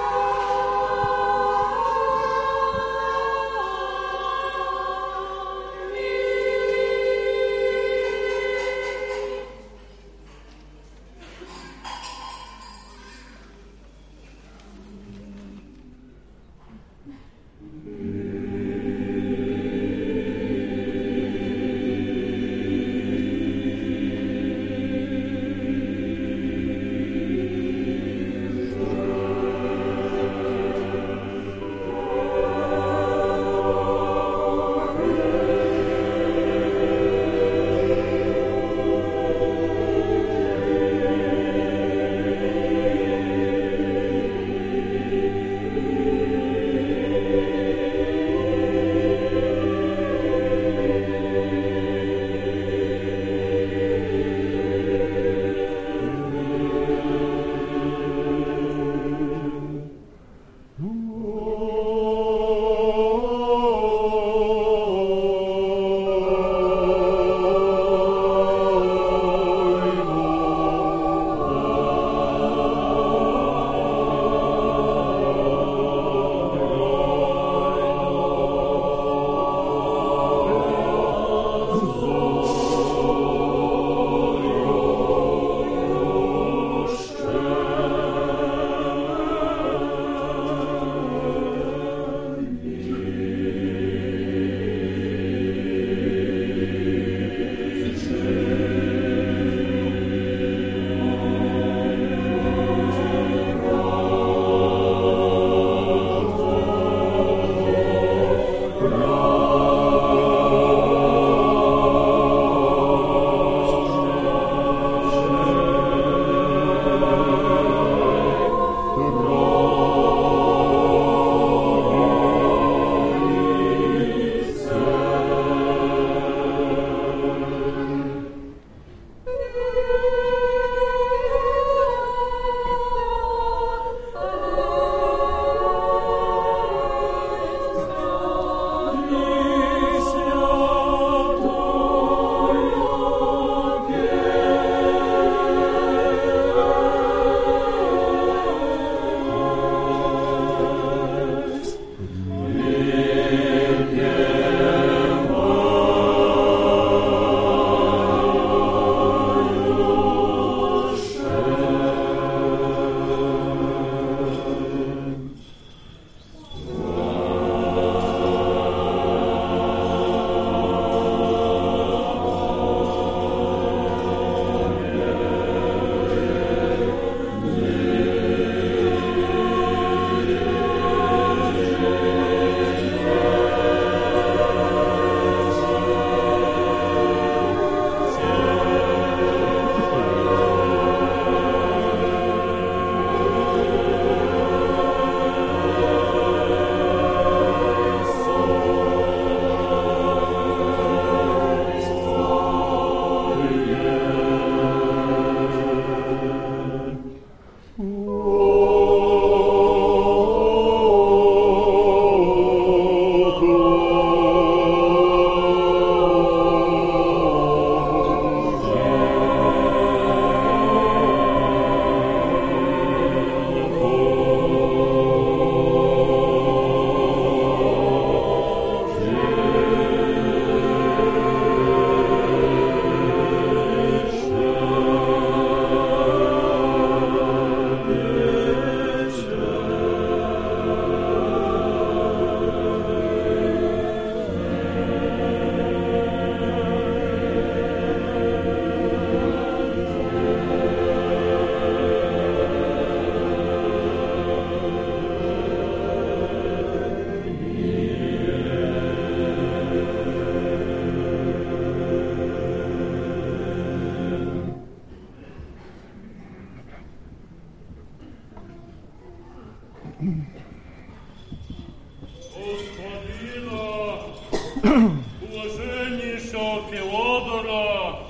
Блаженнейшего Феодора,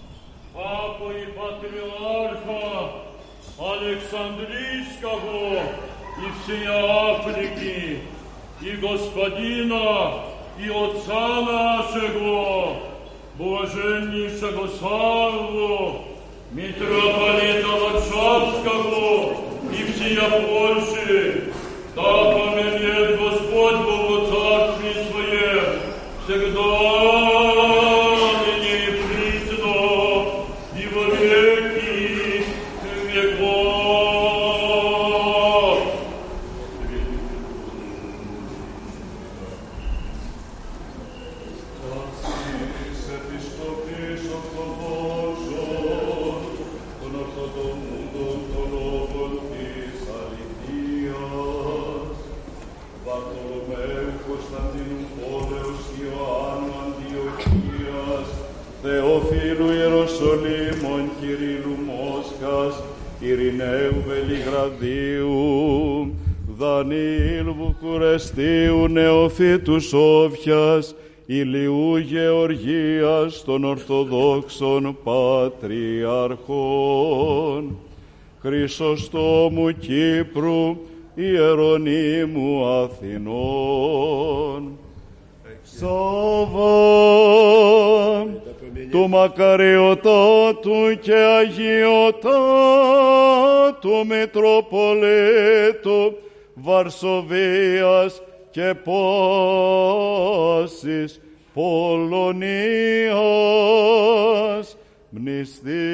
папу и патриарха Александрийского и всей Африки, и Господина, и Отца нашего, блаженнейшего Савву, митрополита Варшавского и всея Польши, да поменет Господь Бог во Царстве Своем, всегда, ныне и присно, и во веки веков. Θεοφίλου Ιεροσολύμων, Κυρίλου Μόσχας, Ειρηναίου Βελιγραδίου, Δανίλ Βουκουρεστίου, Νεοφύτου Σόφιας, Ηλιού Γεωργίας των Ορθοδόξων Πατριαρχών, Χρυσοστόμου Κύπρου, Ιερονύμου Αθηνών, Σάββα του μακαριωτάτου και αγιωτάτου Μητροπολίτου Βαρσοβίας και πάσης Πολωνίας, μνηστεί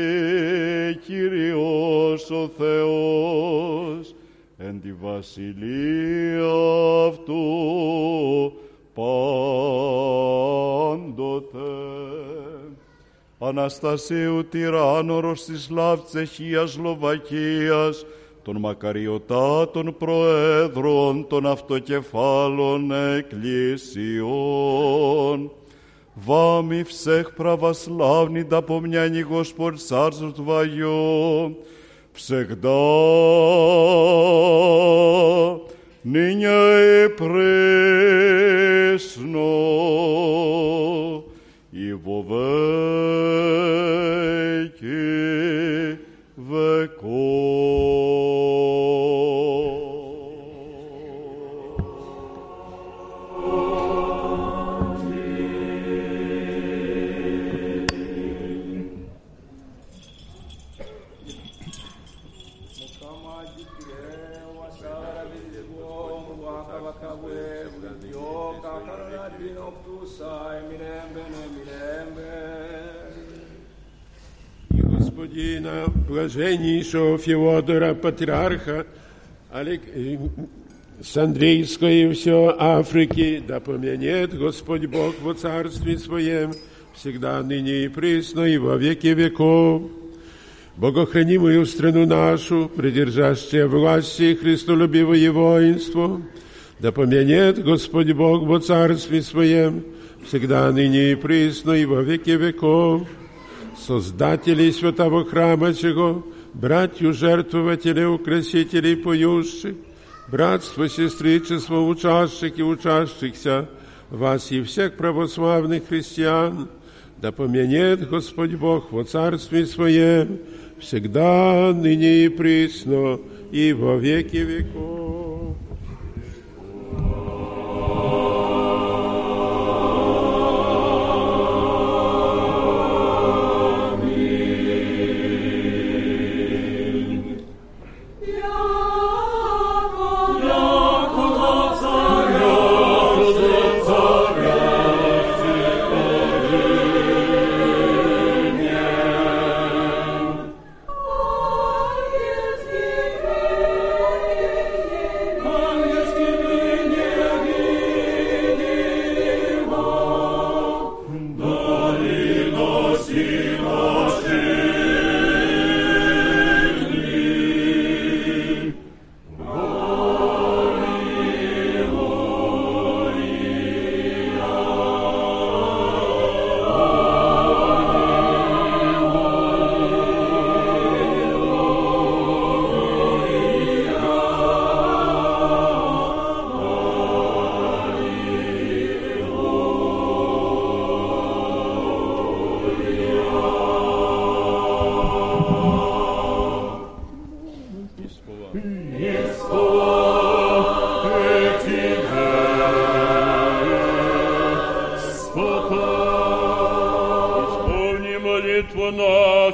Κύριος ο Θεός εν τη βασιλεία αυτού πάντοτε. Αναστασίου τυράννορος της Λάβ Τσεχίας Σλοβακίας, των μακαριωτάτων προέδρων των αυτοκεφάλων εκκλησιών. Вами всех православный да помняни Господь Царство Твое, всегда, ныне и пресно, и во веки веков. Господина, блаженнейшего Феодора, патриарха с Андрейской и все Африки, да помянет Господь Бог во Царстве Своем, всегда, ныне и присно, и во веки веков. Богохранимую страну нашу, придержащее власти и христолюбивое воинство, да помянет Господь Бог во Царстве Своем, всегда, ныне и присно, и во веки веков. Создателей святого храма сего, братью жертвователей, украсителей поющих, братство, сестричество, учащих и учащихся, вас и всех православных христиан, да помянет Господь Бог во Царстве Своем, всегда, ныне и присно, и во веки веков. Yeah.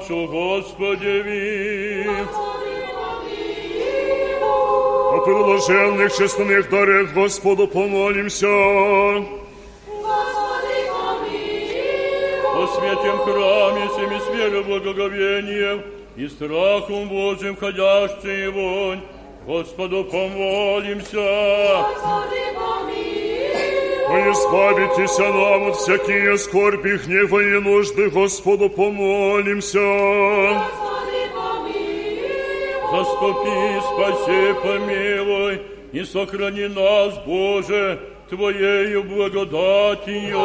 нашу, Господи, О предложенных честных дарах Господу помолимся. о святем храме, всеми с верой, благоговением и страхом Божьим входящий вонь, Господу помолимся. О, избавитесь нам от всякие скорби, гнева и нужды, Господу помолимся. Заступи, спаси, помилуй, и сохрани нас, Боже, Твоею благодатью.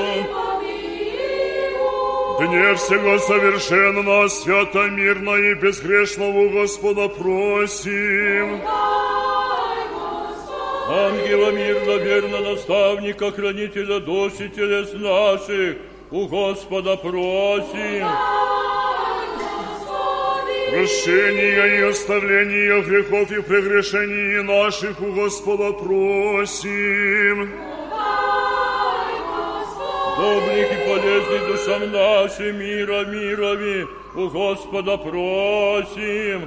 Дне всего совершенно, свято, мирно и безгрешного Господа просим. Ангела мирно, верно, наставника, хранителя душ и телес наших, у Господа просим. Прощения и оставления грехов и прегрешений наших у Господа просим. Добрых и полезных душам нашим мира мирови, у Господа просим.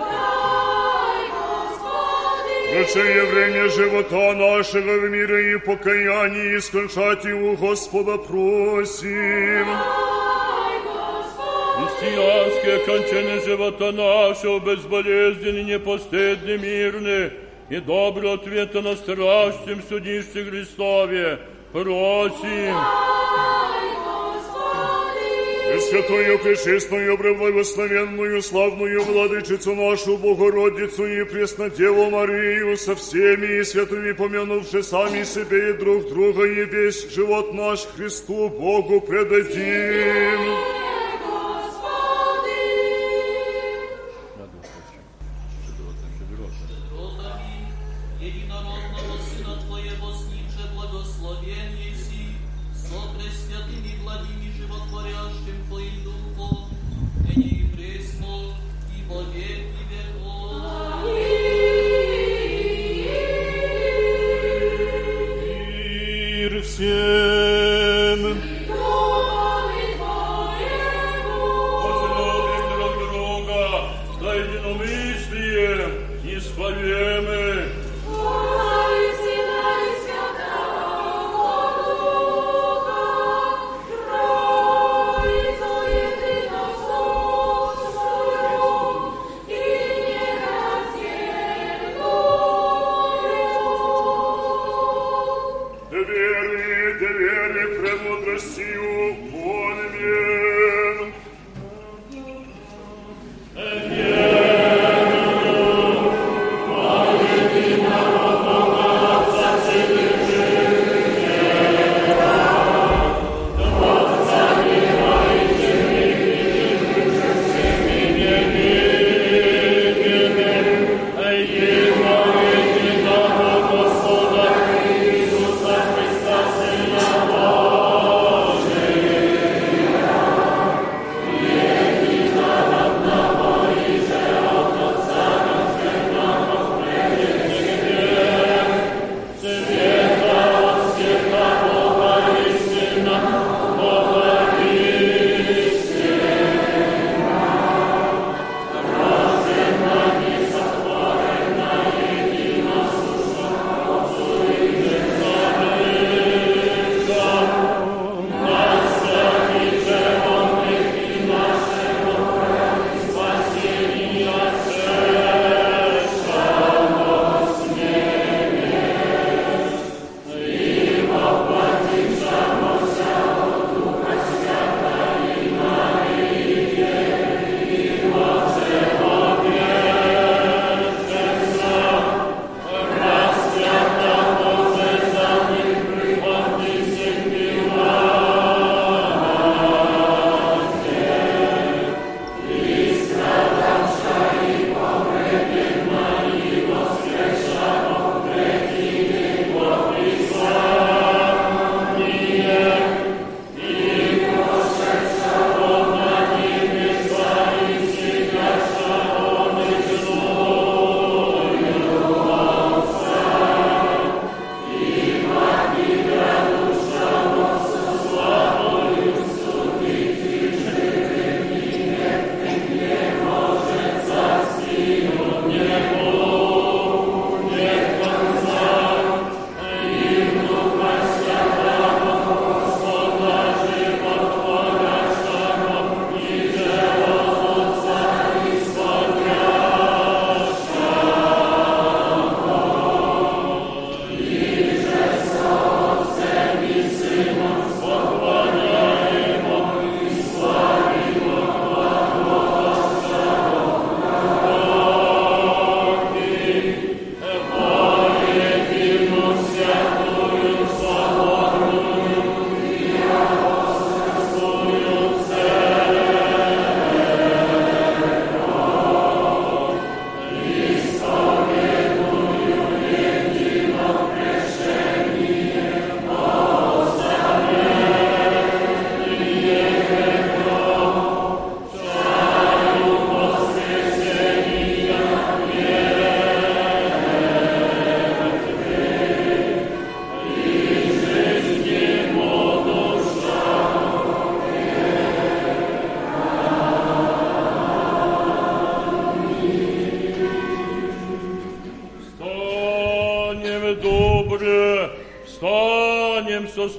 Прощение время живота нашего в мире и покаянии, и скончать у Господа просим. Христианские кончины живота нашего, безболезненны, непостыдны, мирны, и добрый ответ на страшном судище Христове просим. Пресвятую, пречистую, преблагословенную, славную Владычицу нашу, Богородицу и Преснодеву Марию, со всеми и святыми помянувши сами себе и друг друга, и весь живот наш Христу Богу предадим.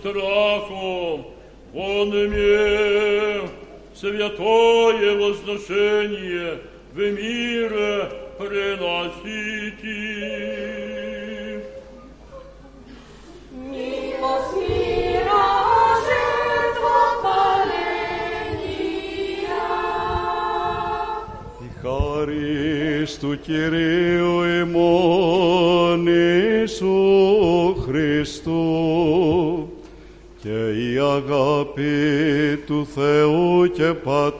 страхом, Он имел святое возношение в мире приносите. Милость мира, жертва паления. Η χάρις του Κυρίου ημών Ιησού Χριστού και η αγάπη του Θεού και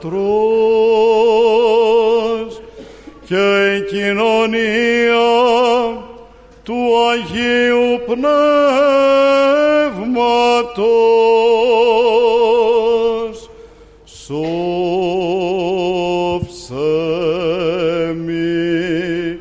Πατρός και η κοινωνία του Αγίου Πνεύματος σώψε μη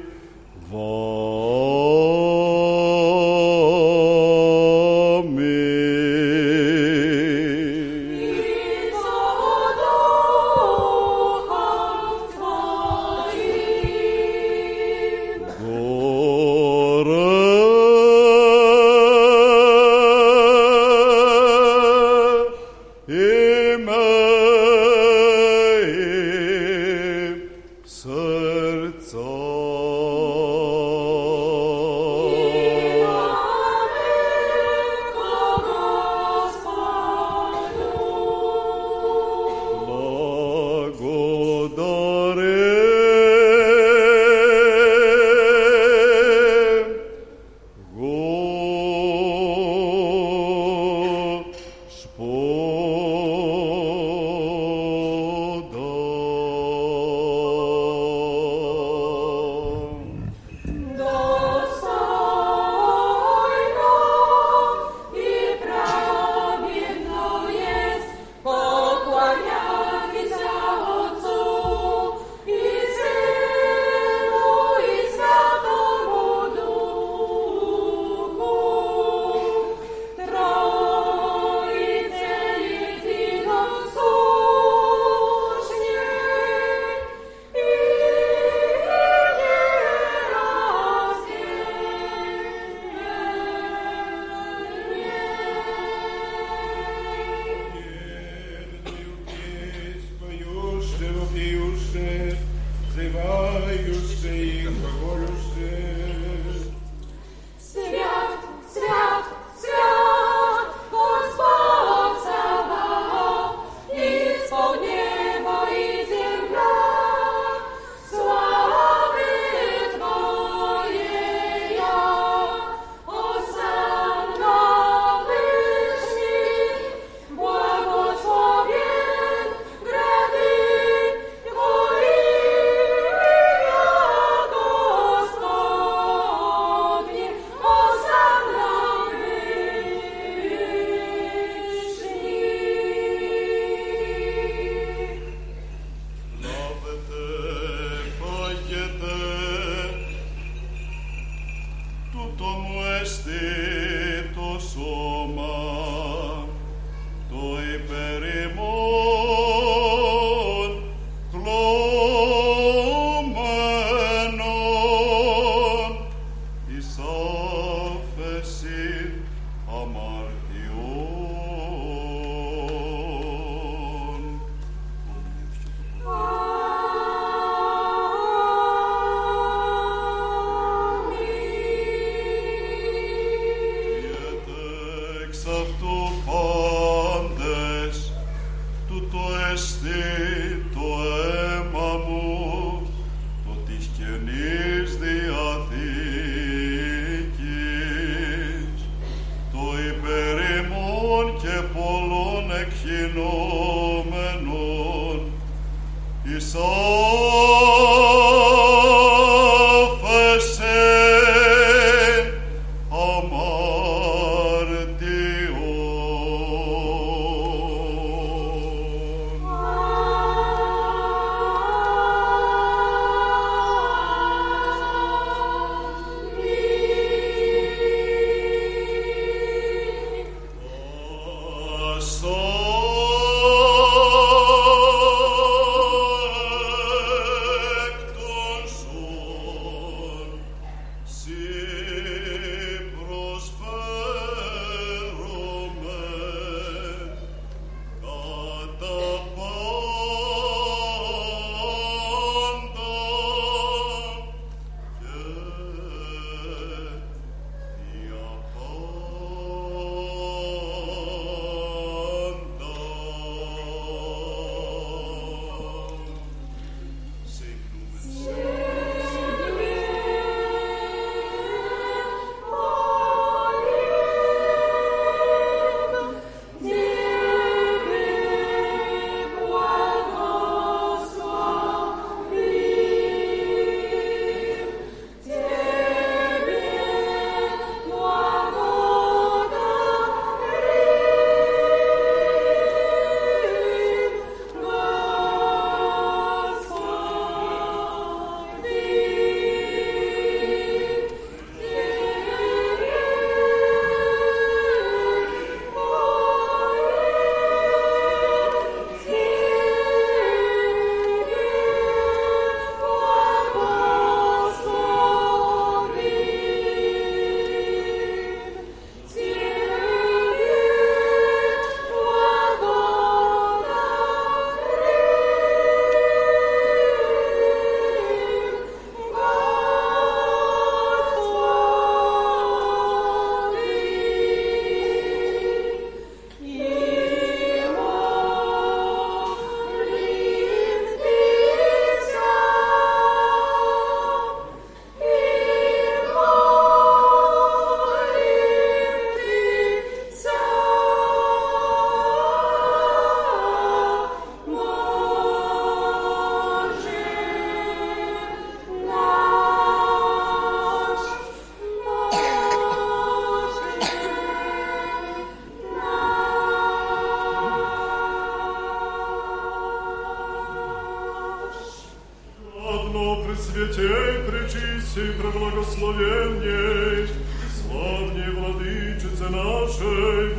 Пресвятей, пречистей, преблагословенней, славней Владычице нашей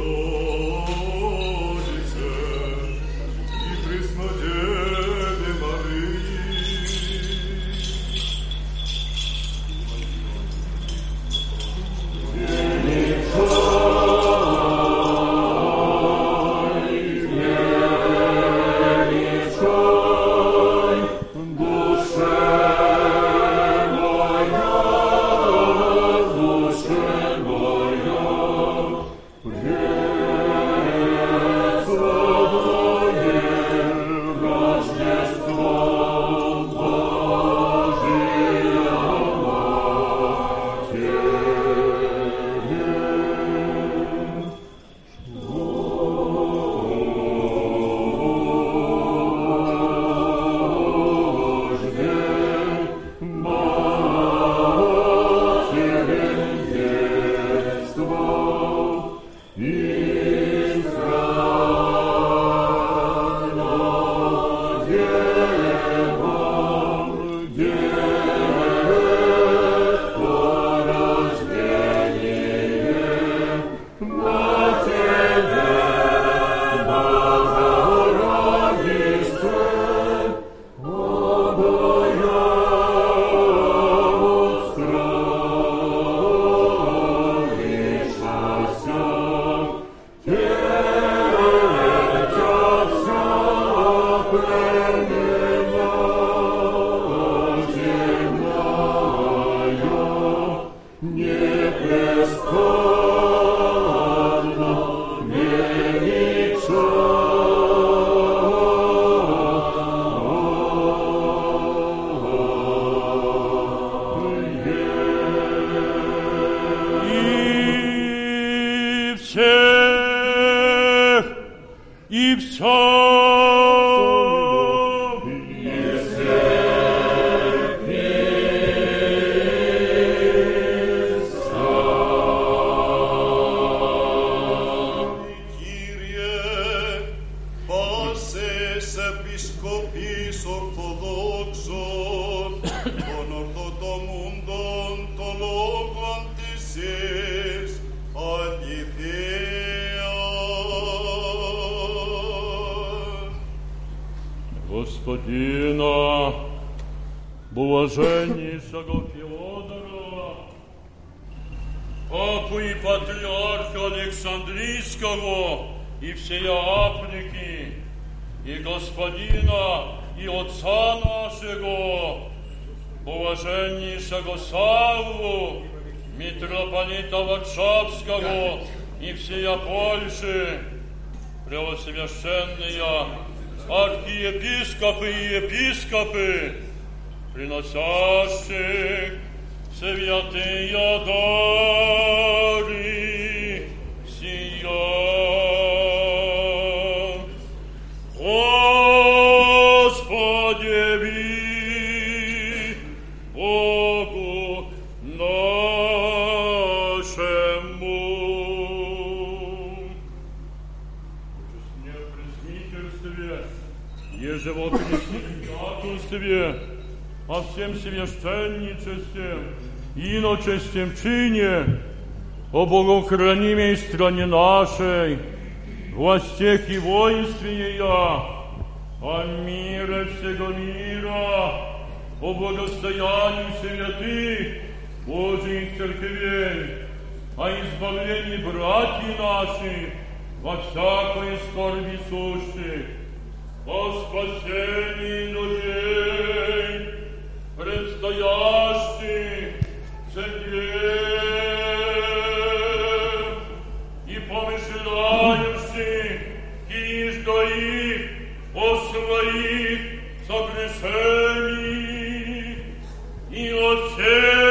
Богородице и Преснодеве Марии. Господина, блаженнейшего Феодора, Папу и Патриарха Александрийского и всей Африки, и Господина и Отца нашего, блаженнейшего Савву, митрополита Варшавского и всея Польши, преосвященные архиепископы и епископы, приносящих святые дары сия. Господи, Богу нашему. Еже во пресвященстве, о всем священничестве, иночестем чине, о богохранимой стране нашей, властях и воинстве ея, о мире всего мира, о благостоянии святых Божьих церквей, о избавлении братьев наших во всякой скорби сущих, о спасении людей, предстоящих церквей и помышляющих киждо их о своих согрешениях и о всех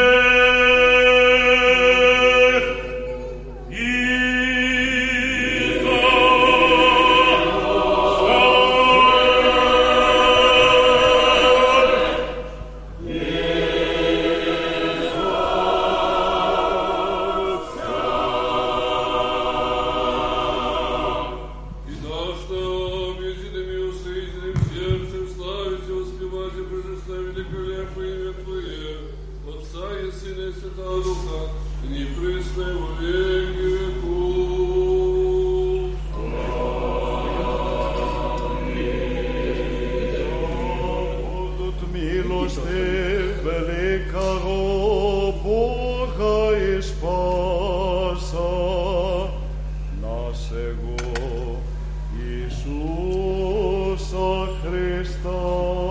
сердцем славить и воспевать Иисуса Христа.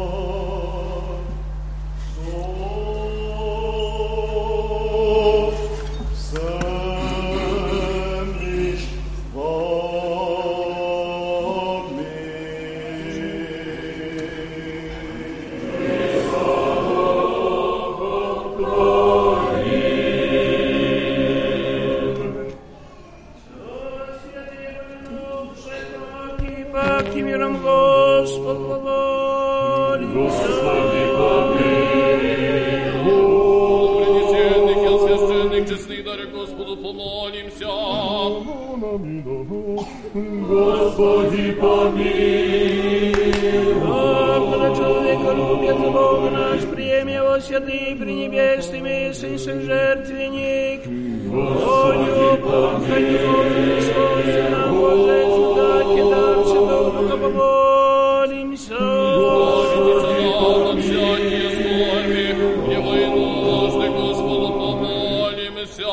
Господи, помилуй. Господа человеколюбец, Бог наш, прими его святый пренебесный всех жертвенник. Господи, помилуй. Господи, нам Боже, дайте дар Святого Духа, помолимся. Господи, нам всякие скорби, его и нужды, Господу помолимся.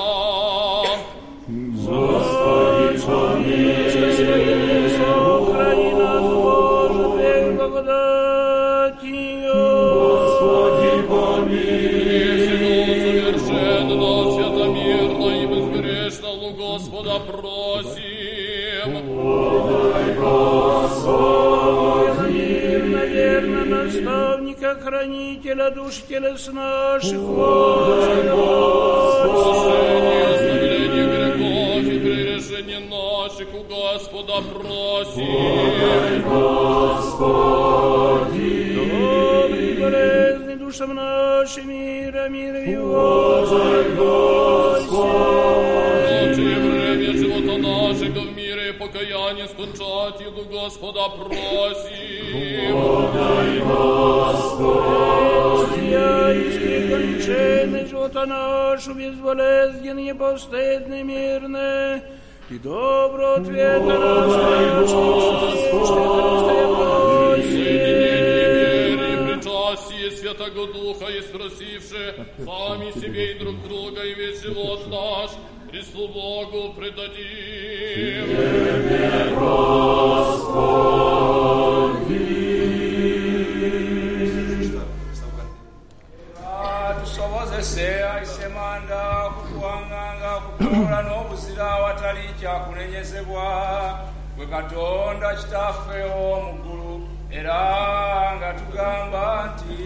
Господи, помилуй. Сохрани нас, Боже, Твоей благодатью. Господи, помилуй. Всего совершенно, святомирно и безгрешно у Господа просим. Подай, Господи. Мирно, верно, наставника, хранителя душ и телес наших. Подай, Господи. Оставление грехов и прегрешений наших у Господа просим. Подай, Господи. Добрый, болезный душам нашим, мира его. Подай, Господи. Лучшее время живота нашего в мире и покаяние скончать, и у Господа просим. Подай, Господи. Исти кончины живота нашу, безболезненный, непостыдный, мирный, и добро ответа нас, причастие Святого Духа и спросивши сами себе и друг друга, и весь живот наш Христу Богу предадим. Тебе, Господи. Tusobozese aisemanda kukuwanganga kukola n'obuzira awatali kyakunenyezebwa gwe Katonda kitaffe ow'omu ggulu era nga tugamba nti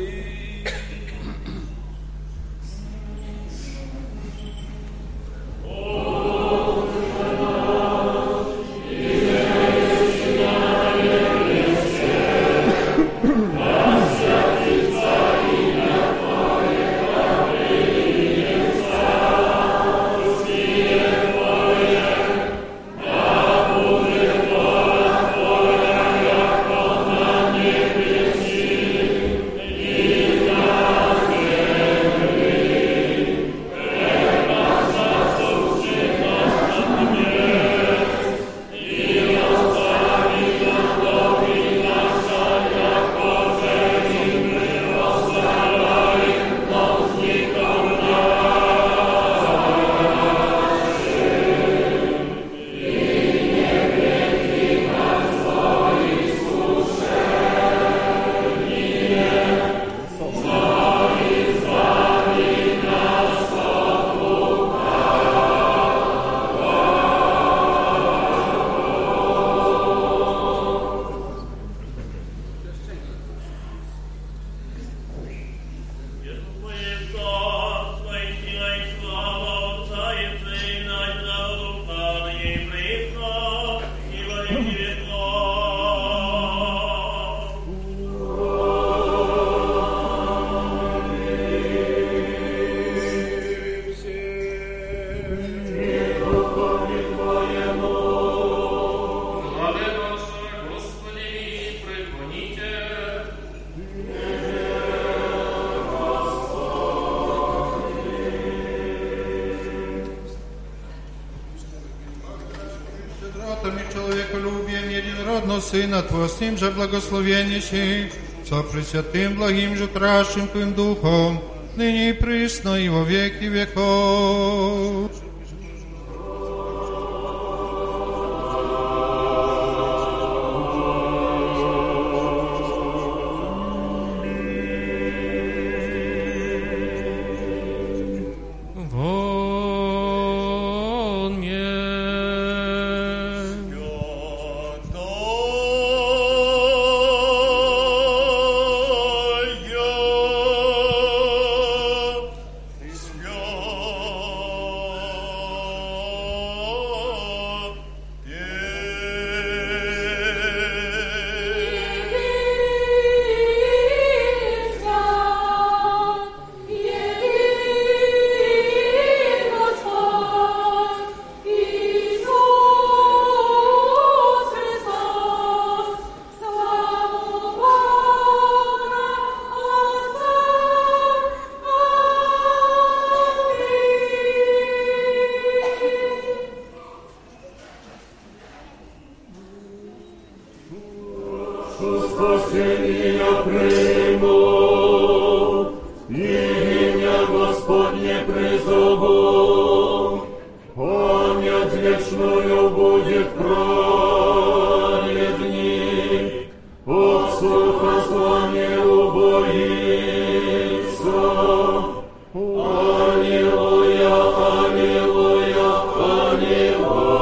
Сына Твоего, с ним же благословеннейшим, со Пресвятым, благим же, кращим Твоим Духом, ныне и присно, и во веки веков. Спасения приму, имя Господне призову, память вечную будет праведник, от слуха зла не убоится. Аллилуйя, аллилуйя, аллилуйя.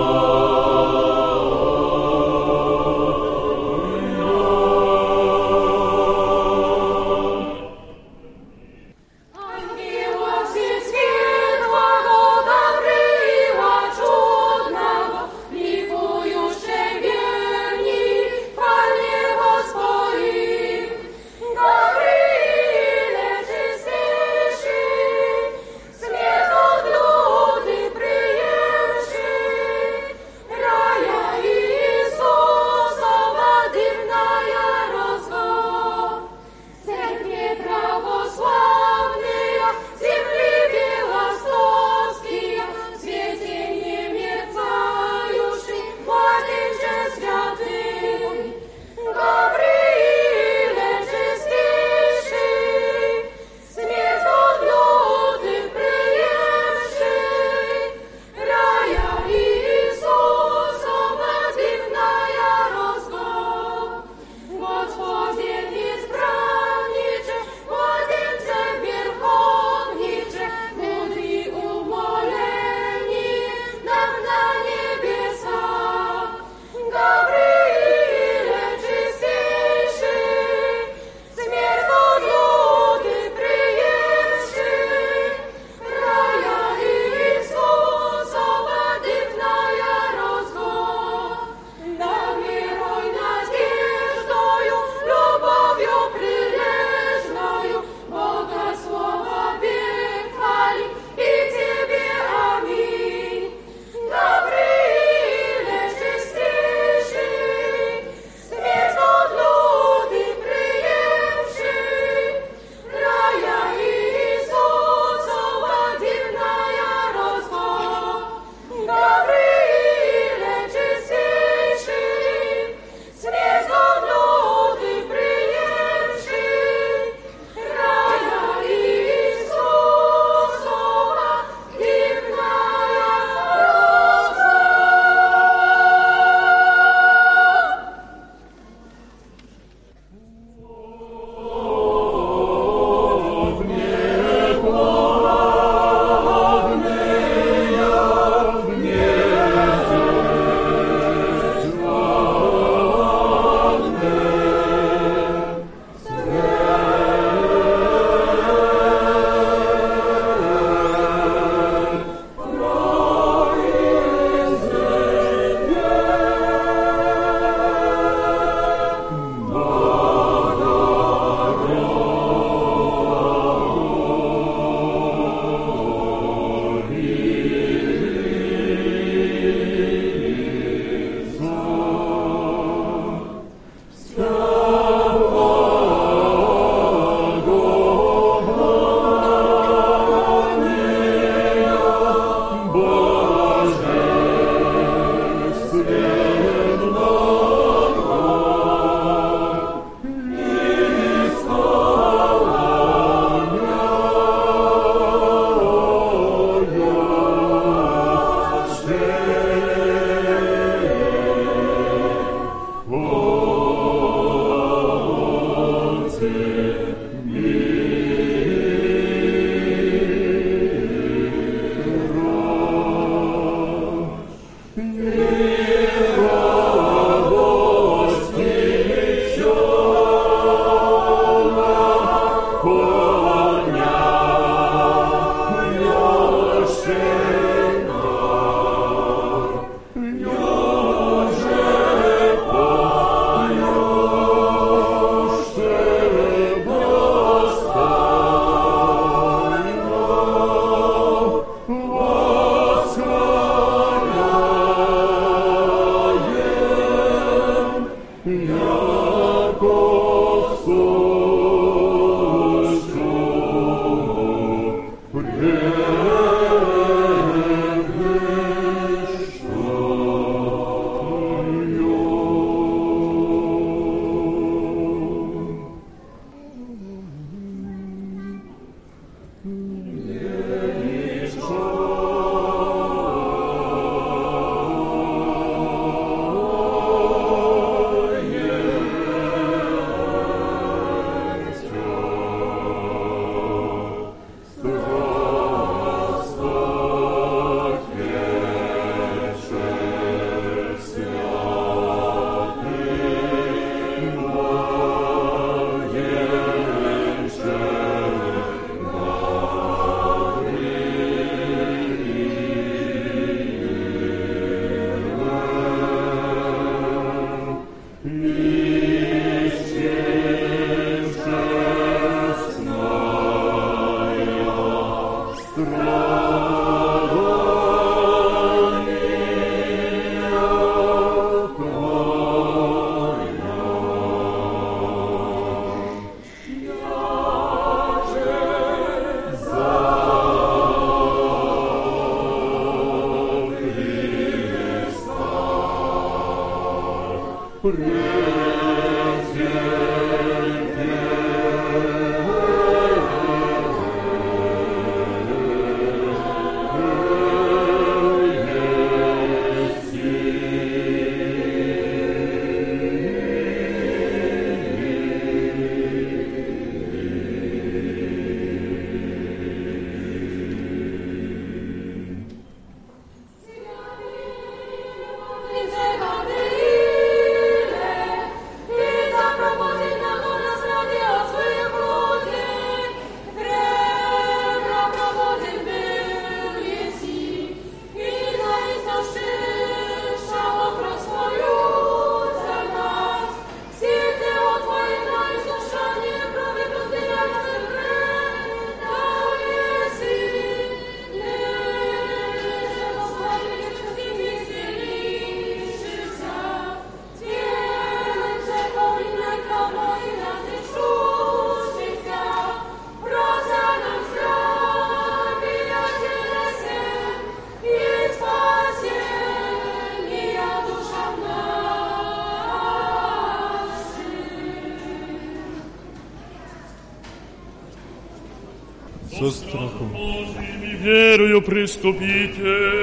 Со страхом Божьим и верою приступите.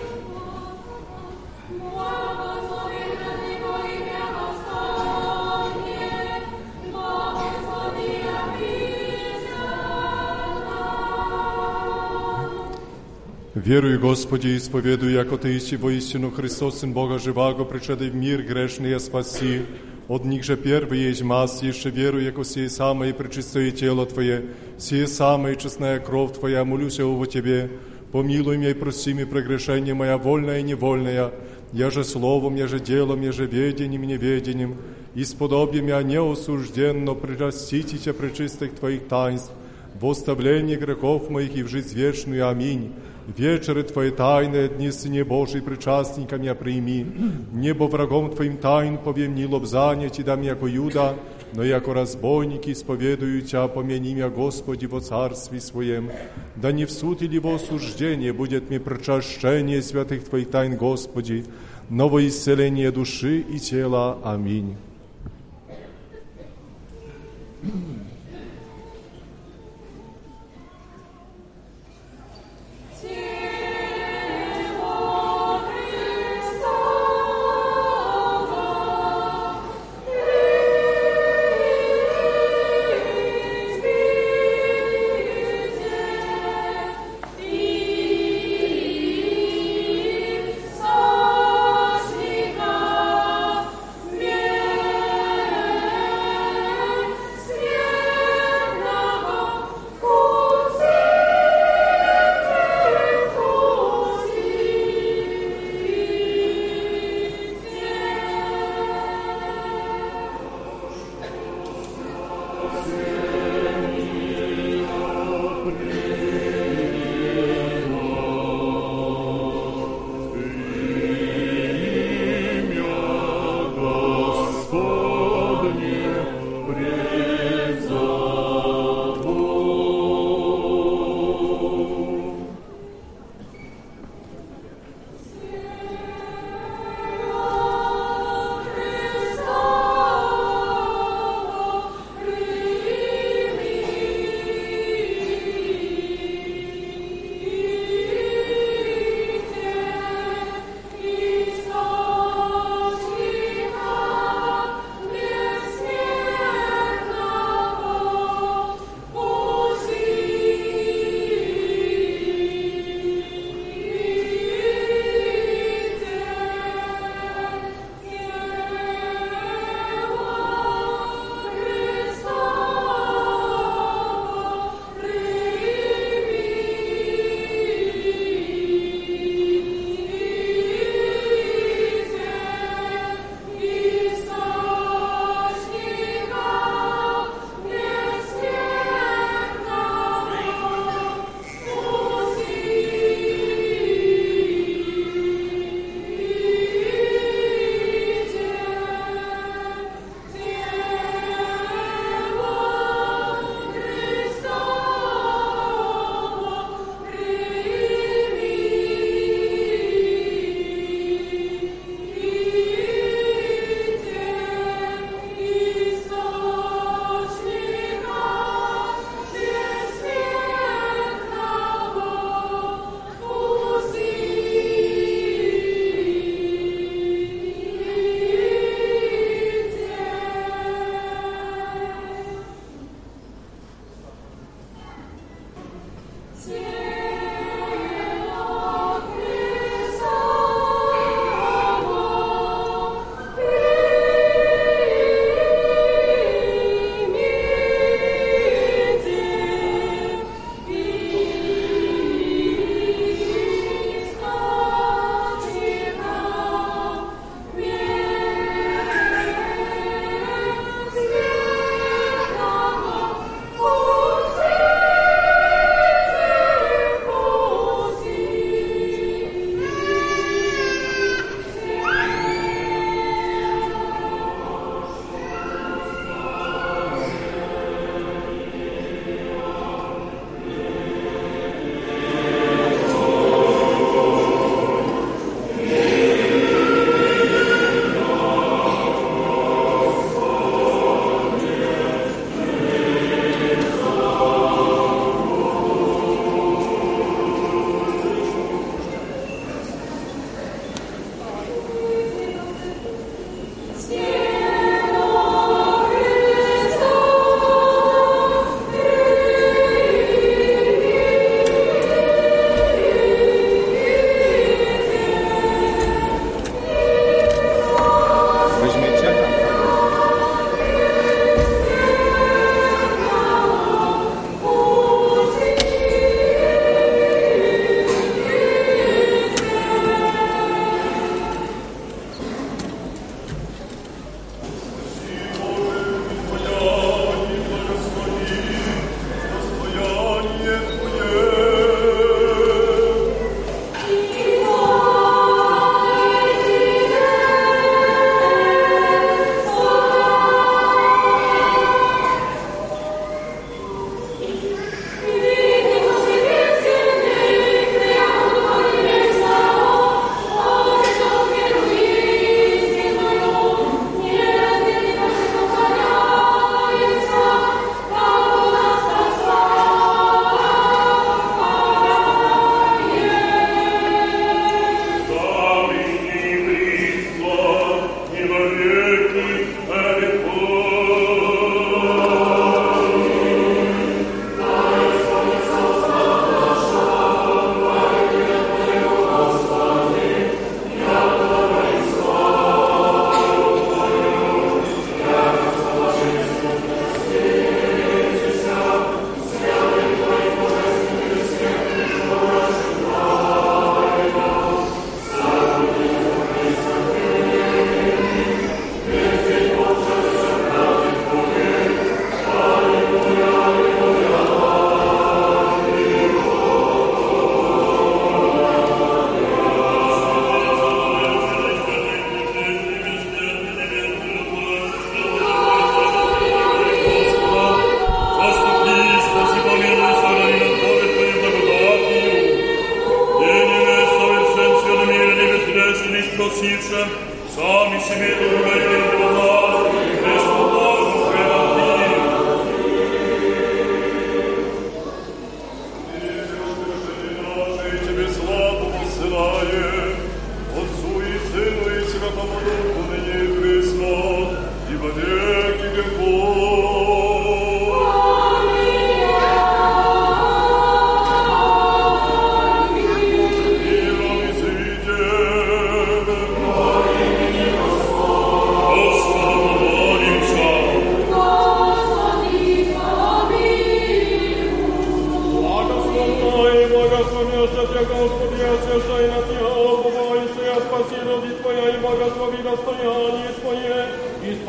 Верую, Господи, исповедую, яко Ты иси воистину Христос, Сын Бога живаго, пришедший в мир грешный, спаси. От них же первый есть масс, еще верую, яко сие самое пречистое тело Твое, сие самое честная кровь Твоя, молюсь о Тебе. Помилуй меня и прости мне прегрешение моя, вольное и невольное, я же словом, я же делом, я же ведением и неведением, исподобие меня неосужденно, прирастите Тебя пречистых Твоих таинств, в оставлении грехов моих и в жизнь вечную. Аминь. Вечеры Твои тайны, дни Сыне Божий, причастником я прими. Небо врагом Твоим тайн повемни лобзание Ти дам яко Юда, но яко разбойники исповедую Тя, помяни меня, Господи, во Царстве Своем. Да не в суд или во осуждение будет мне причащение святых Твоих тайн, Господи, но во исцеление души и тела. Аминь.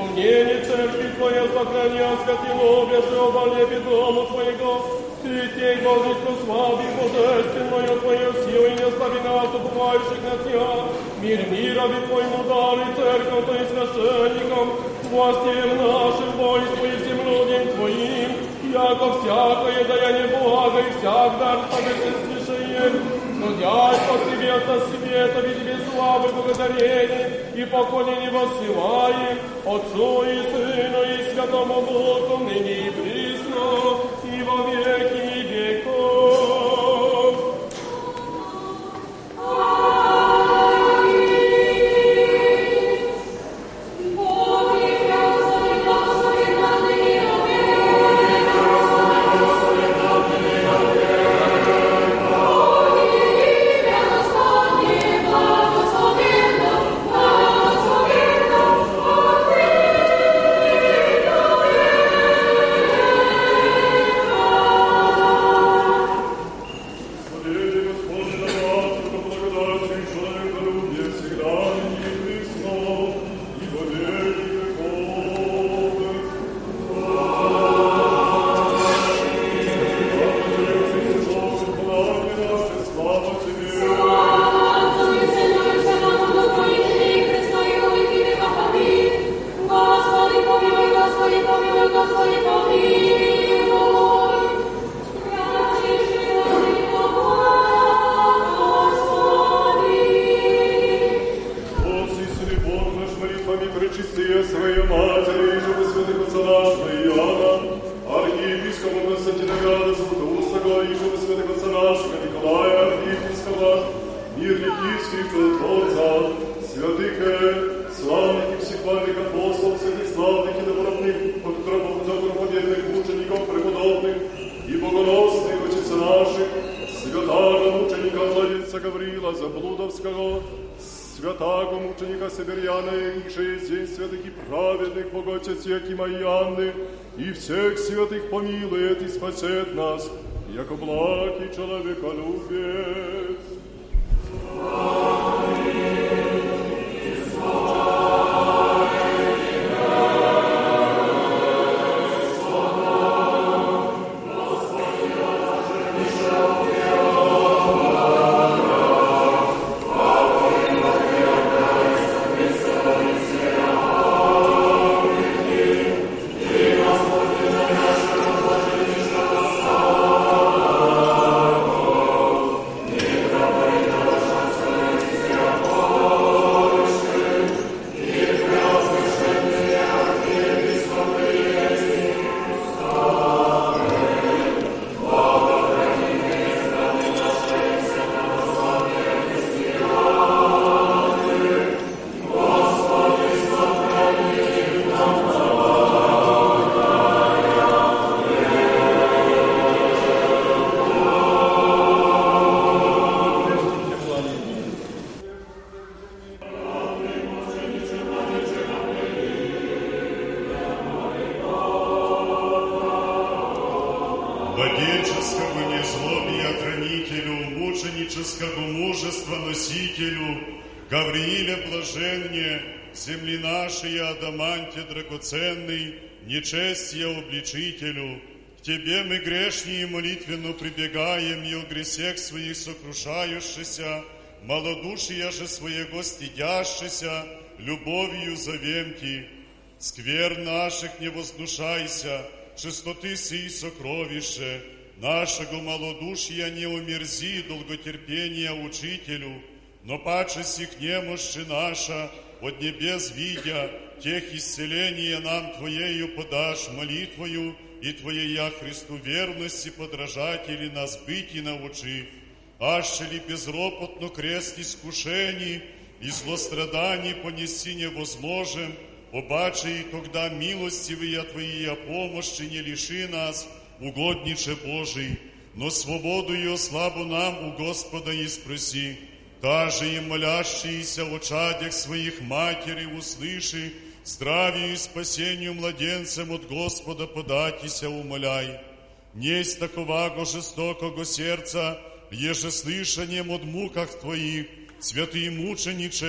исполнение церкви Твоя сохрани, осветило, же оболепи дому Твоего. Ты тей должен прославить божественную Твою силу и не остави нас, уповающих на Тебя. Мир мирови Твоему даруй церковь, то и священникам, властям нашим, войску и всем людям Твоим, яко всякое даяние блага и всяк дар совершенствующее. Трудясь по Тебе, Отца Света, ведь Тебе славы, благодарение и поклонение воссылаем Отцу и Сыну и Святому Духу, ныне и присно, и во веки веков. И всех святых помилует и спасет нас, яко благ и человеколюбец. Земли нашей, адаманте драгоценный, нечестия обличителю, к Тебе мы грешние молитвенно прибегаем, и о гресех своих сокрушающихся, малодушия же своего стыдящихся, любовью зовемки. Сквер наших не вознушайся, чистоты сии сокровище, нашего малодушия не умерзи, долготерпения учителю, но паче сих немощи наша, от небес видя, тех исцеления нам Твоею подашь молитвою, и Твоея Христу верности подражатели нас быть и научи. Аще ли безропотно крест искушений и злостраданий понести невозможен, обаче и тогда милостивые Твоя помощи не лиши нас, угодниче Божий, но свободу ее славу нам у Господа и спроси. Даже и молящиеся о чадях своих матери услыши, здравию и спасению младенцам от Господа податися умоляй. Несть таковаго жестокого сердца, еже слышанием от муках Твоих, святый мучениче,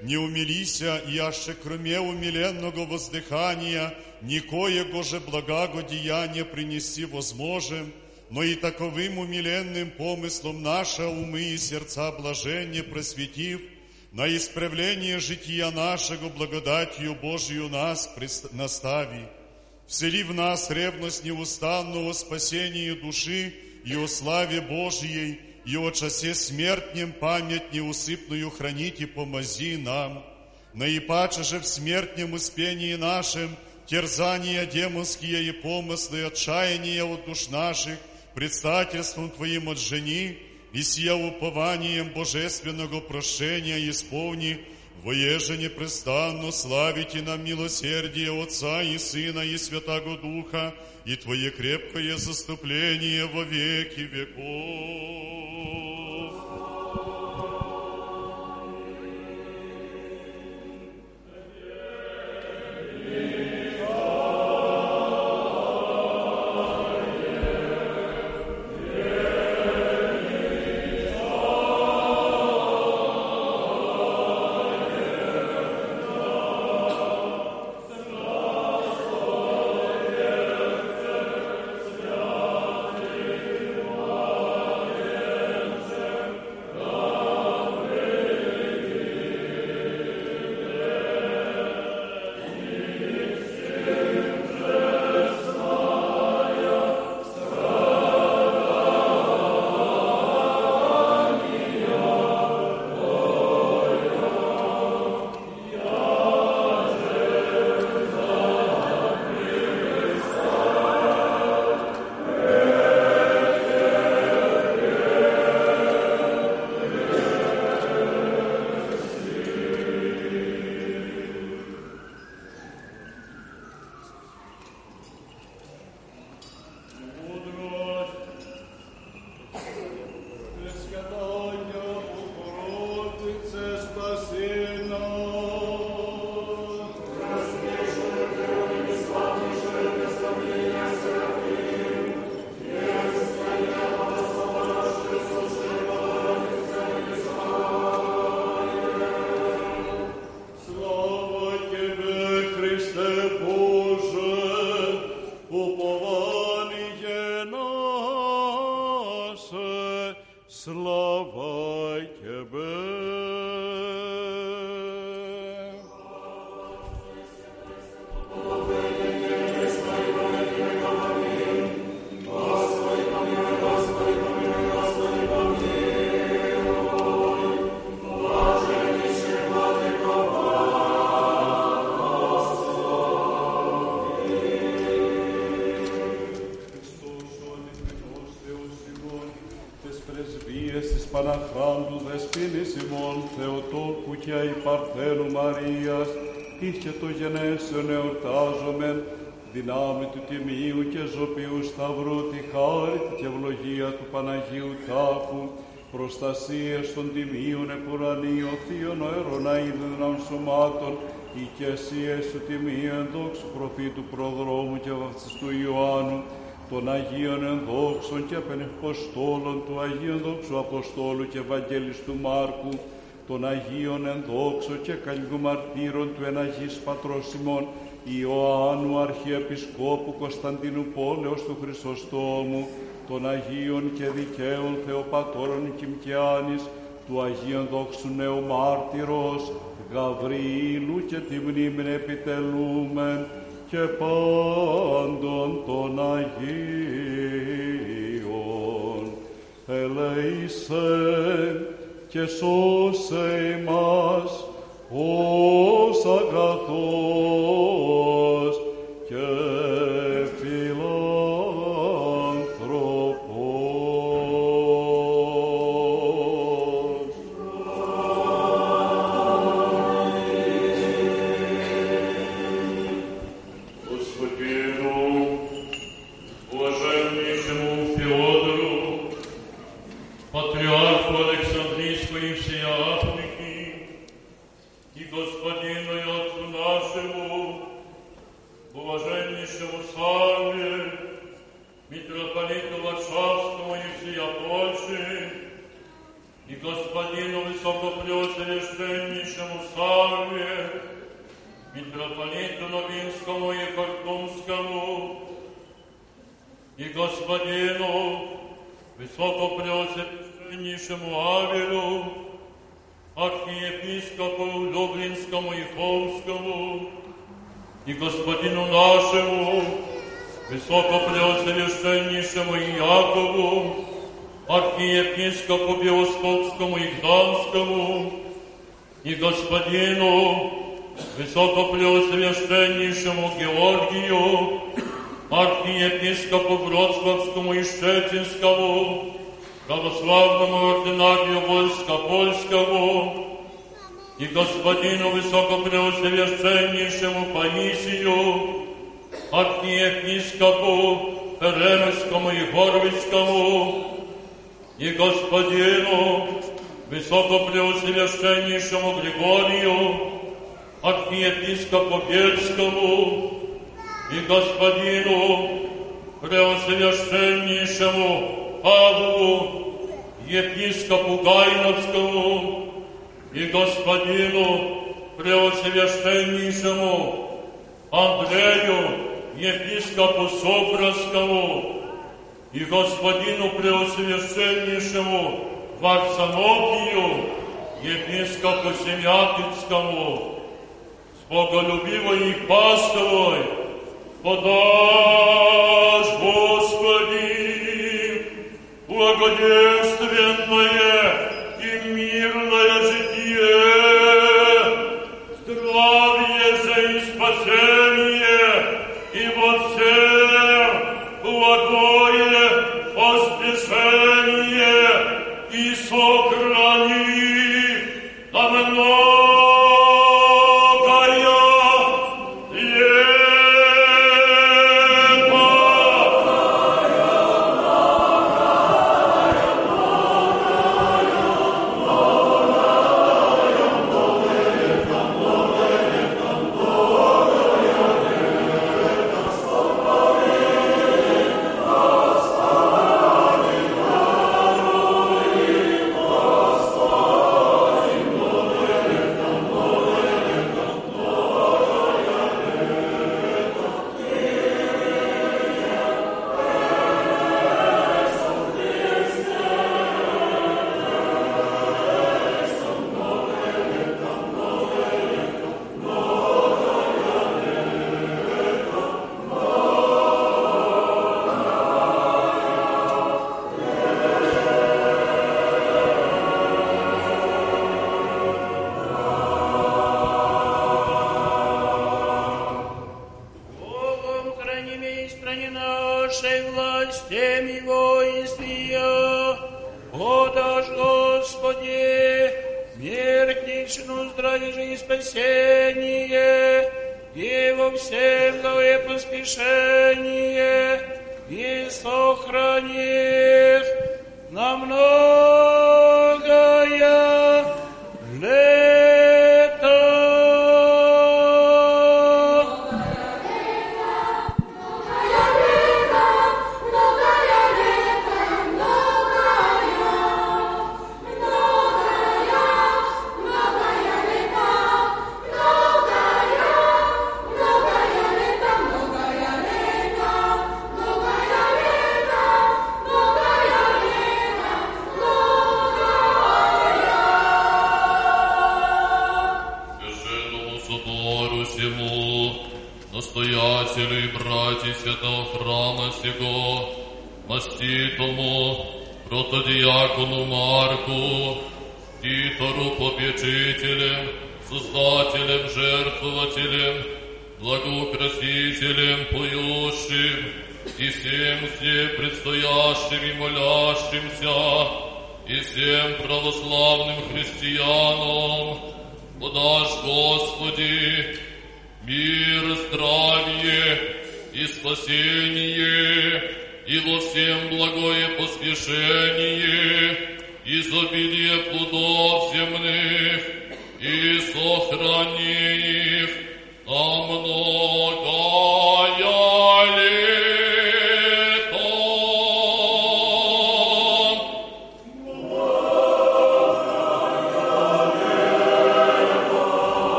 не умилися, и аще кроме умиленного воздыхания никоего же благогодеяния принести возможем, но и таковым умиленным помыслом наши умы и сердца блаженне просветив, на исправление жития нашего благодатью Божию нас настави. Всели в нас ревность неустанного спасения души и о славе Божьей, и о часе смертнем память неусыпную хранить и помози нам. Наипаче же в смертнем успении нашем терзания демонские и помыслы, отчаяния от душ наших предстательством Твоим отжени, и сия упованием божественного прощения исполни, воеже непрестанно славите нам милосердие Отца и Сына и Святаго Духа, и Твое крепкое заступление во веки веков. Παναχράντου δεσποίνης ημών Θεοτόκου και η Παρθένου Μαρίας, είχε το γενέσεων εορτάζομεν, δυνάμει του Τιμίου και Ζωπιού Σταυρού, τη χάρη και ευλογία του Παναγίου Τάφου, προστασίες των Τιμίων επουρανίων, θείων αέρων αίδων σωμάτων, οικεσίες του Τιμίου ενδόξου προφήτου προδρόμου και βαπτιστού Ιωάννου, των Αγίων ενδόξων και απενεχποστόλων του Αγίου ενδόξου Αποστόλου και Ευαγγελιστού Μάρκου, των Αγίων ενδόξων και καλλιού μαρτύρων του εναγής Πατρός ημών Ιωάννου Αρχιεπισκόπου Κωνσταντίνου Πόλεως του Χρυσοστόμου, των Αγίων και δικαίων Θεοπατώρων Κιμκιάνης, του Αγίου ενδόξου Νεομάρτυρος Γαβριήλου και τη μνήμην επιτελούμεν, και πάντων των Αγίων. Ελέησεν και σώσε ημάς ως αγαθός και и Господину Высокопреосвященнейшему Савве, митрополиту Новинскому и Хартумскому, и Господину Высокопреосвященнейшему Авелю, архиепископу Люблинскому и Холмскому, и Господину нашему Высокопреосвященнейшему Иакову, архиепископу Биоскопскому и Гданскому, и Господину Высокопреосвященнейшему Георгию, архиепископу Вроцлавскому и Щетинскому, православному ординарию войска польского, и Господину Высокопреосвященнейшему Паисию, архиепископу Ремельскому и Горвицкому, и Господину Высокопреосвященнейшему Григорию, архиепископу Бельскому, и Господину Преосвященнейшему Павлу, епископу Гайновскому, и Господину Преосвященнейшему Андрею, епископу Собровскому, и Господину Преосвященнейшему Варсонофию, епископу Семятинскому, с боголюбивой Пасховой подашь, Господи, благоденственное и мирное житие, здравие же и спасение, и во всем благое поспешение, и сохрани на многое лето.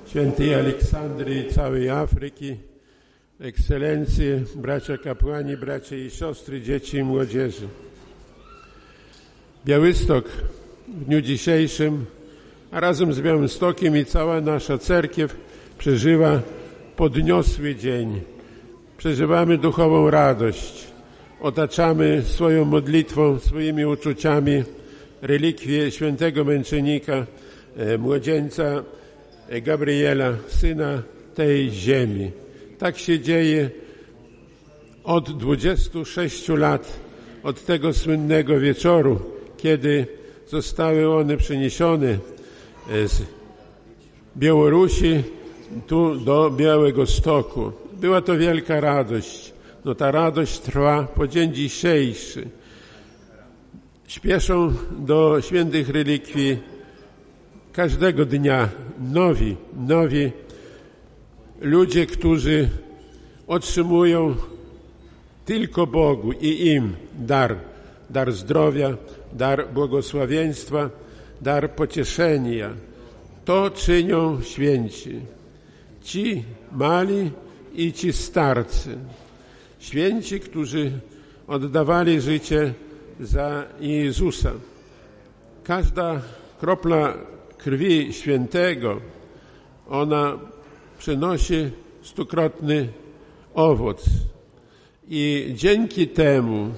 świętej Aleksandry i całej Afryki, ekscelencje, bracia kapłani, bracia i siostry, dzieci i młodzieży. Białystok w dniu dzisiejszym, a razem z Białymstokiem i cała nasza cerkiew przeżywa podniosły dzień. Przeżywamy duchową radość. Otaczamy swoją modlitwą, swoimi uczuciami relikwie świętego męczennika, młodzieńca Gabriela, syna tej ziemi. Tak się dzieje od 26 lat, od tego słynnego wieczoru, kiedy zostały one przeniesione z Białorusi tu do Białegostoku. Była to wielka radość. No ta radość trwa po dzień dzisiejszy. Śpieszą do świętych relikwii każdego dnia nowi ludzie, którzy otrzymują tylko Bogu i im dar zdrowia, dar błogosławieństwa, dar pocieszenia. To czynią święci. Ci mali i ci starcy. Święci, którzy oddawali życie za Jezusa. Każda kropla krwi świętego, ona przynosi 100-krotny owoc. I dzięki temu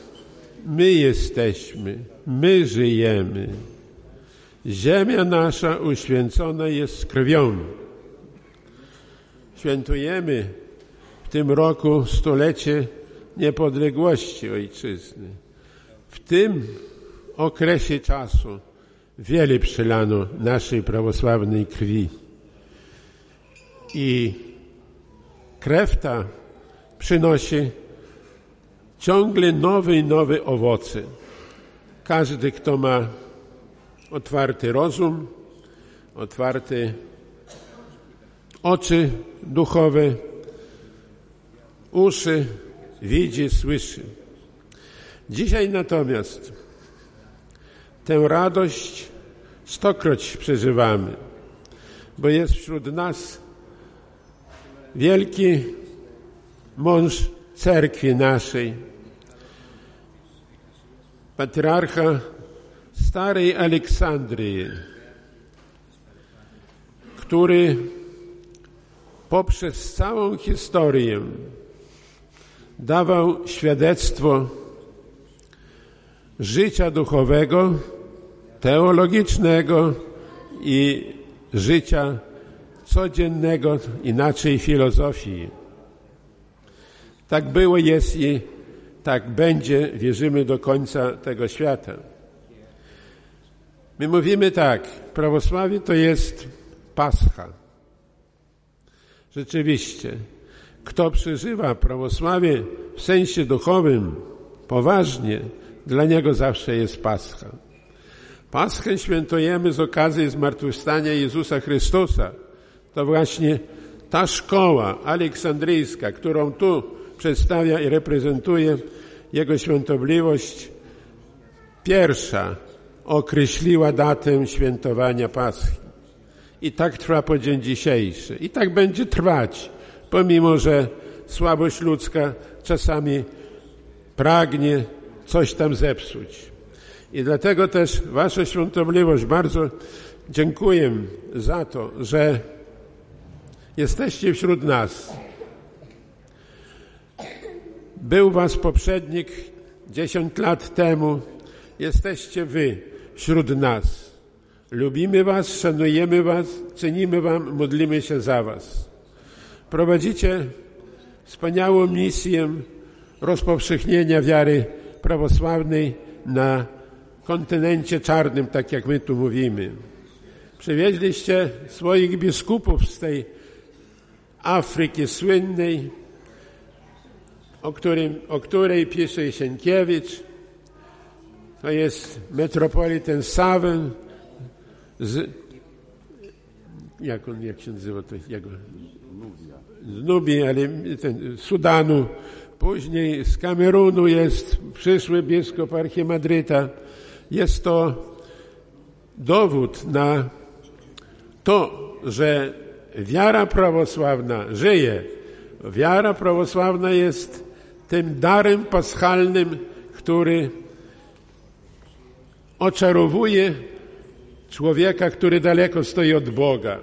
my żyjemy. Ziemia nasza uświęcona jest krwią. Świętujemy w tym roku 100-lecie niepodległości ojczyzny. W tym okresie czasu wiele przelano naszej prawosławnej krwi. I krew ta przynosi ciągle nowe i nowe owoce. Każdy, kto ma otwarty rozum, otwarte oczy duchowe, uszy, widzi, słyszy. Dzisiaj natomiast tę radość 100-kroć przeżywamy, bo jest wśród nas wielki mąż cerkwi naszej, patriarcha Starej Aleksandrii, który poprzez całą historię dawał świadectwo życia duchowego, teologicznego i życia codziennego, inaczej filozofii. Tak było, jest i tak będzie, wierzymy do końca tego świata. My mówimy tak, prawosławie to jest Pascha. Rzeczywiście, kto przeżywa prawosławie w sensie duchowym poważnie, dla niego zawsze jest Pascha. Paschę świętujemy z okazji zmartwychwstania Jezusa Chrystusa. To właśnie ta szkoła aleksandryjska, którą tu przedstawia i reprezentuje Jego Świątobliwość, pierwsza określiła datę świętowania Paschy. I tak trwa po dzień dzisiejszy. I tak będzie trwać, pomimo że słabość ludzka czasami pragnie coś tam zepsuć. I dlatego też Wasza Świątobliwość, bardzo dziękuję za to, że jesteście wśród nas. Był Was poprzednik 10 lat temu, jesteście Wy wśród nas. Lubimy Was, szanujemy Was, cenimy Wam, modlimy się za Was. Prowadzicie wspaniałą misję rozpowszechnienia wiary prawosławnej na kontynencie czarnym, tak jak my tu mówimy. Przywieźliście swoich biskupów z tej Afryki słynnej, o której pisze Sienkiewicz. To jest metropoliten Sawen jak się nazywa to? Z Nubii, ale Sudanu. Później z Kamerunu jest przyszły biskup archimadryta. Jest to dowód na to, że wiara prawosławna żyje. Wiara prawosławna jest tym darem paschalnym, który oczarowuje człowieka, który daleko stoi od Boga.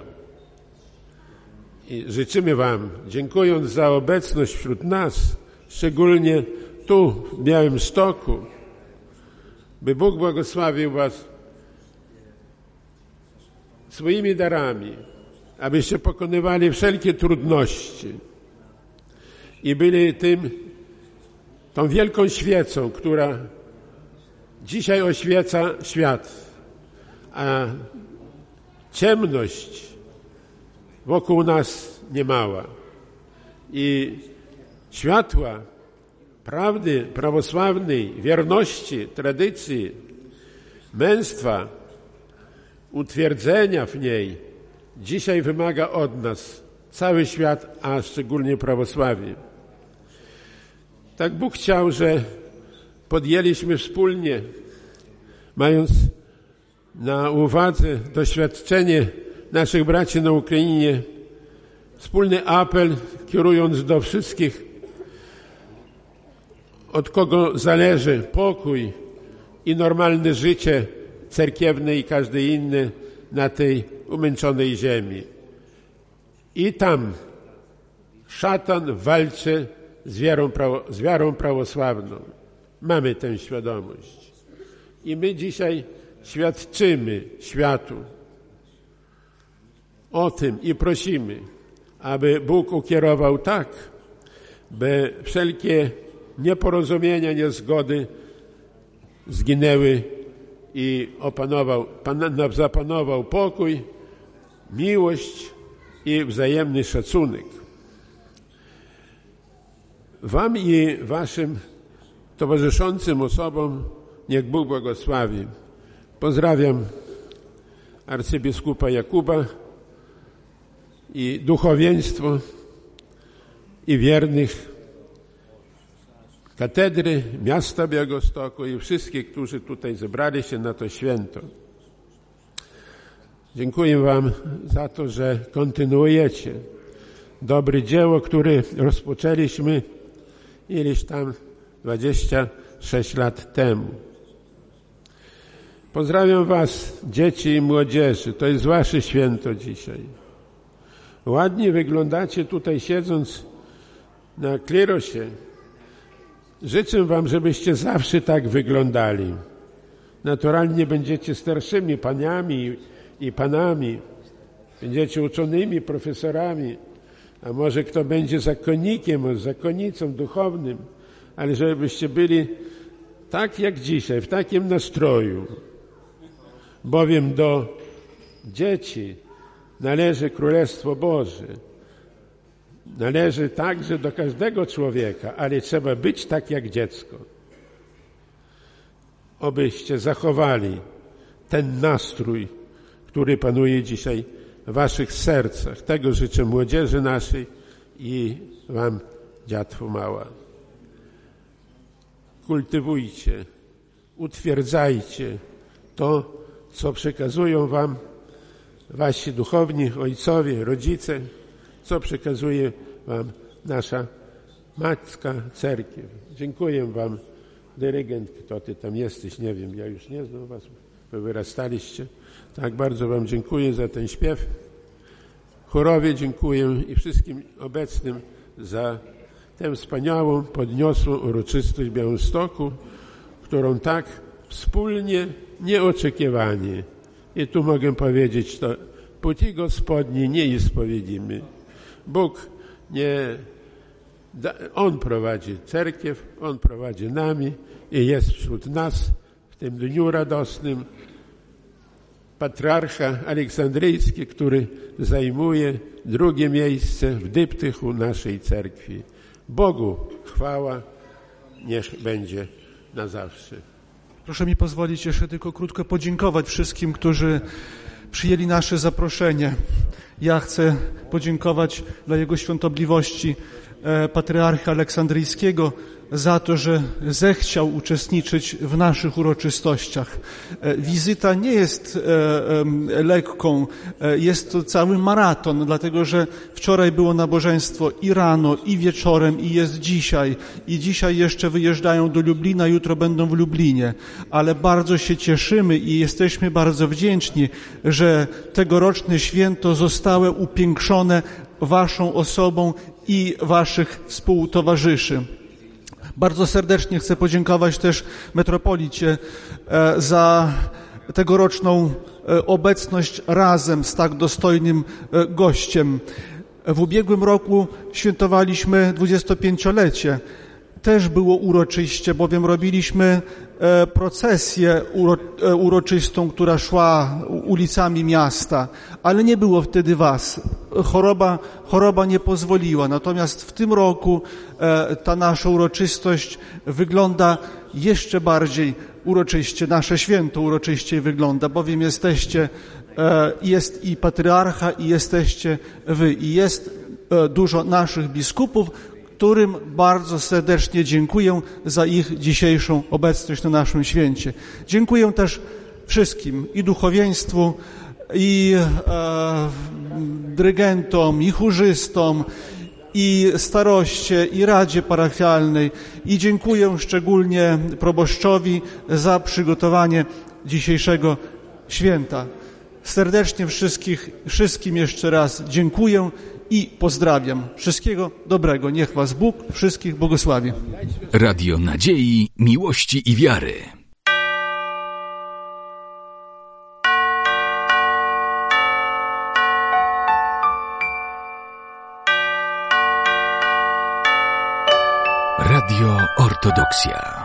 I życzymy Wam, dziękując za obecność wśród nas, szczególnie tu, w Białymstoku, by Bóg błogosławił Was swoimi darami, abyście pokonywali wszelkie trudności i byli tą wielką świecą, która dzisiaj oświeca świat, a ciemność wokół nas niemała. I światła prawdy prawosławnej, wierności, tradycji, męstwa, utwierdzenia w niej dzisiaj wymaga od nas cały świat, a szczególnie prawosławie. Tak Bóg chciał, że podjęliśmy wspólnie, mając na uwadze doświadczenie naszych braci na Ukrainie, wspólny apel, kierując do wszystkich, od kogo zależy pokój i normalne życie cerkiewne i każde inne na tej umęczonej ziemi. I tam szatan walczy z wiarą prawosławną. Mamy tę świadomość. I my dzisiaj świadczymy światu o tym i prosimy, aby Bóg ukierował tak, by wszelkie nieporozumienia, niezgody zginęły i zapanował pokój, miłość i wzajemny szacunek. Wam i waszym towarzyszącym osobom niech Bóg błogosławi. Pozdrawiam arcybiskupa Jakuba i duchowieństwo i wiernych katedry miasta Białegostoku i wszystkich, którzy tutaj zebrali się na to święto. Dziękuję Wam za to, że kontynuujecie dobre dzieło, które rozpoczęliśmy ileś tam 26 lat temu. Pozdrawiam Was, dzieci i młodzieży. To jest Wasze święto dzisiaj. Ładnie wyglądacie tutaj siedząc na klerosie. Życzę Wam, żebyście zawsze tak wyglądali. Naturalnie będziecie starszymi paniami i panami. Będziecie uczonymi, profesorami. A może kto będzie zakonnikiem, zakonnicą duchownym. Ale żebyście byli tak jak dzisiaj, w takim nastroju. Bowiem do dzieci należy Królestwo Boże. Należy także do każdego człowieka, ale trzeba być tak jak dziecko. Obyście zachowali ten nastrój, który panuje dzisiaj w waszych sercach. Tego życzę młodzieży naszej i wam, dziatwo mała. Kultywujcie, utwierdzajcie to, co przekazują wam wasi duchowni, ojcowie, rodzice, co przekazuje wam nasza Matka Cerkiew. Dziękuję wam, dyrygent, kto ty tam jesteś, nie wiem, ja już nie znam was, wy wyrastaliście. Tak bardzo wam dziękuję za ten śpiew. Chórowie dziękuję i wszystkim obecnym za tę wspaniałą, podniosłą uroczystość Białymstoku, którą tak wspólnie, nieoczekiwanie. I tu mogę powiedzieć, to płci Gospodni nie ispowiedzimy. Bóg On prowadzi cerkiew, On prowadzi nami i jest wśród nas w tym dniu radosnym patriarcha aleksandryjski, który zajmuje drugie miejsce w dyptychu naszej cerkwi. Bogu chwała niech będzie na zawsze. Proszę mi pozwolić jeszcze tylko krótko podziękować wszystkim, którzy przyjęli nasze zaproszenie. Ja chcę podziękować dla Jego Świątobliwości patriarchy aleksandryjskiego za to, że zechciał uczestniczyć w naszych uroczystościach. Wizyta nie jest lekką, jest to cały maraton, dlatego że wczoraj było nabożeństwo i rano, i wieczorem, i jest dzisiaj. I dzisiaj jeszcze wyjeżdżają do Lublina, jutro będą w Lublinie. Ale bardzo się cieszymy i jesteśmy bardzo wdzięczni, że tegoroczne święto zostało upiększone waszą osobą i waszych współtowarzyszy. Bardzo serdecznie chcę podziękować też metropolicie za tegoroczną obecność razem z tak dostojnym gościem. W ubiegłym roku świętowaliśmy 25-lecie. Też było uroczyście, bowiem robiliśmy procesję uroczystą, która szła ulicami miasta, ale nie było wtedy was. Choroba nie pozwoliła. Natomiast w tym roku ta nasza uroczystość wygląda jeszcze bardziej uroczyście. Nasze święto uroczyście wygląda, bowiem jest i patriarcha, i jesteście wy, i jest dużo naszych biskupów, którym bardzo serdecznie dziękuję za ich dzisiejszą obecność na naszym święcie. Dziękuję też wszystkim, i duchowieństwu, i dyrygentom, i chórzystom, i staroście, i Radzie Parafialnej. I dziękuję szczególnie proboszczowi za przygotowanie dzisiejszego święta. Serdecznie wszystkim jeszcze raz dziękuję i pozdrawiam. Wszystkiego dobrego. Niech was Bóg wszystkich błogosławi. Radio Nadziei, Miłości i Wiary. Radio Ortodoksja.